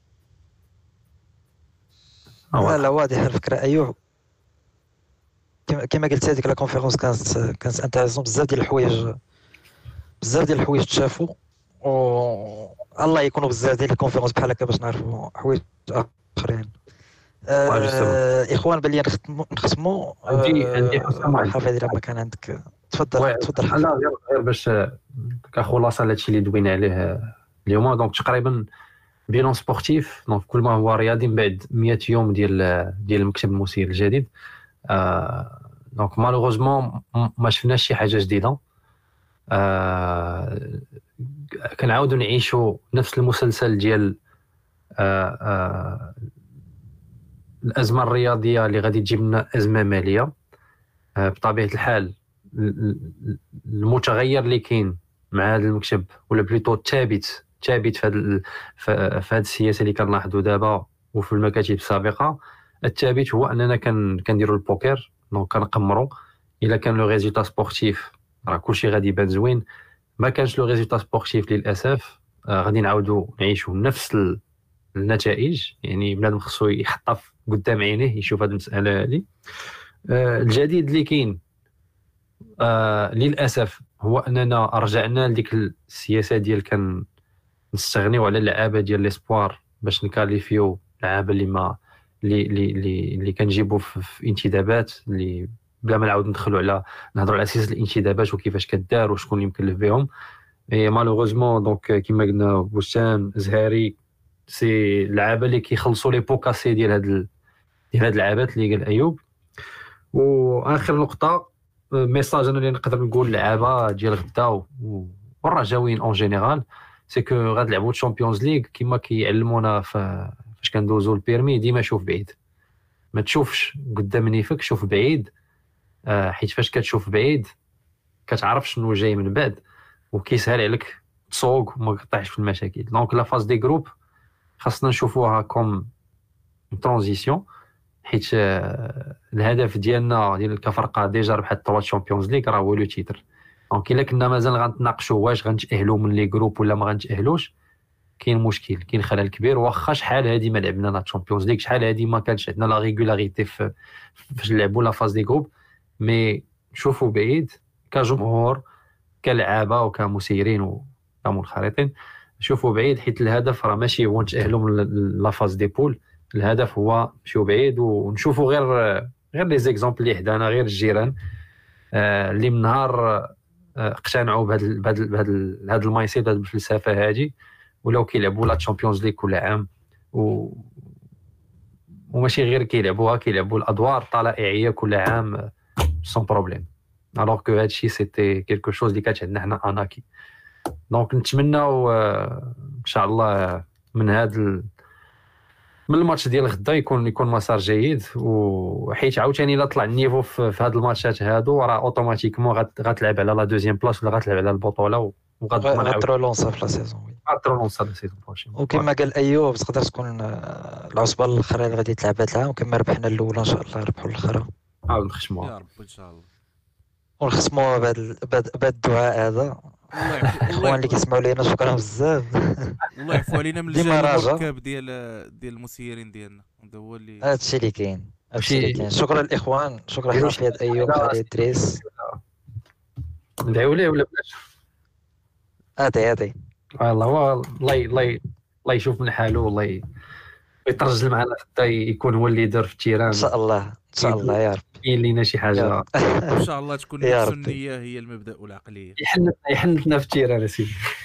لا لا واضح الفكره. ايوه كما قلت هذيك لا كونفيرونس كانت كانت انتريسون بزاف ديال الحوايج، بزاف ديال الحوايج تشافوا، و الله يكونوا بزاف ديال الكونفيرونس بحال هكا باش نعرفوا حوايج اخرين. آه اخوان بلي نختموا نختموا عندي عندي حسام حافظ اذا ما كان عندك تفضل تفضل. لا غير باش كخلاصه هادشي اللي دوينا عليه اليوم. دونك تقريبا بيلون سبورتيف، دونك كل ما هو رياضي من بعد مية يوم ديال ديال المكتب المسير الجديد. آه دونك مالوغوزمون ما شفناش شي حاجه جديده. آه كنعاودوا نعيشوا نفس المسلسل ديال آه آه الازمه الرياضيه اللي غادي تجيب لنا ازمه ماليه. آه بطبيعه الحال المتغير اللي كاين مع هذا المكتب ولا بليتو ثابت ثابت في هذا في هذه السياسه اللي كنلاحظوا دابا وفي المكاتب السابقه. الثابت هو اننا كان كنديروا البوكر، دونك كنقمروا الا كان لو ريزولتا سبورتيف راه كلشي غادي يبان زوين، ما كانش لو ريزولتا سبورتيف للاسف آه غادي نعاودوا نعيشوا نفس النتائج. يعني بنادم خصو يحطها قدام عينيه يشوف هذه المساله هذه. آه الجديد اللي كاين آه للاسف هو اننا رجعنا لديك السياسه ديال كان نستغنيو على اللعابه ديال ليسبوار باش نكاليفيو لعابه اللي ما اللي اللي اللي كنجيبوا في, في انتدابات اللي بلا ما نعاود ندخلوا على نهضروا على سياسه الانتدابات وكيفاش كدار وشكون اللي مكلف بهم. اي مالوغوزمون دونك كيما قلنا بوسام زهاري سي اللعابه اللي كيخلصوا لي بوكاسي ديال هاد ديال هاد اللعابات اللي قال ايوب. واخر نقطه ميساج انا اللي نقدر نقول لعابه ديال غدا والرجاويين اون جينيرال سي كو غادلعبوا الشامبيونز ليغ كيما كيعلمونا فاش كندوزو البيرمي. ديما شوف بعيد، ما تشوفش قدام نيفك، شوف بعيد. آه حيت فاش كتشوف بعيد كتعرف شنو جاي من بعد وكيسهل عليك تسوق وما تطيحش في المشاكل. دونك لا فاز دي جروب خاصنا نشوفوها كوم ترانزيسيون، حيت آه الهدف ديالنا ديال كفرقه ديجا ربحت ثلاثة شامبيونز ليغ راه هو لو تيتر. دونك الا كنا مازال غنتناقشوا واش غنتاهلوا من لي جروب ولا ما غنتاهلوش، كاين مشكل، كاين خلل كبير. واخا شحال هادي ما لعبنا لا تشامبيونز ليغ، شحال هادي ما كانش عندنا لا ريغولاريتي في فاش نلعبوا لا فاز دي جروب، مي نشوفوا بعيد كجمهور كلعابه وكمسيرين وكمنخرطين، نشوفوا بعيد، حيت الهدف راه ماشي هو نتاهلوا من لا فاز دي بول، الهدف هو نمشيو بعيد ونشوفوا غير غير لي زيكزامبل اللي حدانا، غير الجيران آه اللي من نهار آه اقتنعوا بهذا بهذا بهذا المايند سيت، بهذه الفلسفه هذه، ولاو كيلعبوا لا تشامبيونز ليغ كل عام، و وماشي غير كيلعبوها، كيلعبوا الادوار الطلائعيه كل عام سون بروبليم. الوغ كو هادشي سيتي كيلكو شوز اللي كانت عندنا حنا اناكي. دونك نتمناو ان شاء الله من هذا ال... من الماتش ديال غدا يكون يكون مسار جيد، وحيت عاوتاني الا طلع النيفو في, في هاد الماتشات هادو راه اوتوماتيكمون غتلعب على لا دوزيام بلاص ولا غتلعب على البطوله، وغتضمن غترولونسا في لا سيزون. غترولونسا لا سيزون بروشين. وكما قال ايوب تقدر تكون العصبه الاخرى اللي غادي تلعب هاد العام، وكما ربحنا الاولى ان شاء الله نربحوا الاخرى. عاود نخشموها يا رب ان شاء الله، ونختموا بهذا بهذا الدعاء هذا. الاخوان اللي كيسمعوا لينا شكرا بزاف، والله يعفو علينا من الجانب المركب ديال ديال المسيرين ديالنا، هذا هو اللي هادشي اللي كاين، هادشي اللي كاين. شكرا الاخوان، شكرا حفيظ ايوب خالد ادريس. ندعيو ليه ولا بلاش؟ هادي هادي والله هو الله الله الله يشوف من حاله، والله يترجل معنا حتى يكون هو الليدر في التيران ان شاء الله ان شاء الله يا رب. كاين لينا شي حاجه ان شاء الله تكون السنيه هي المبدا والعقليه. يحنتنا يحنتنا في التيران سيدي.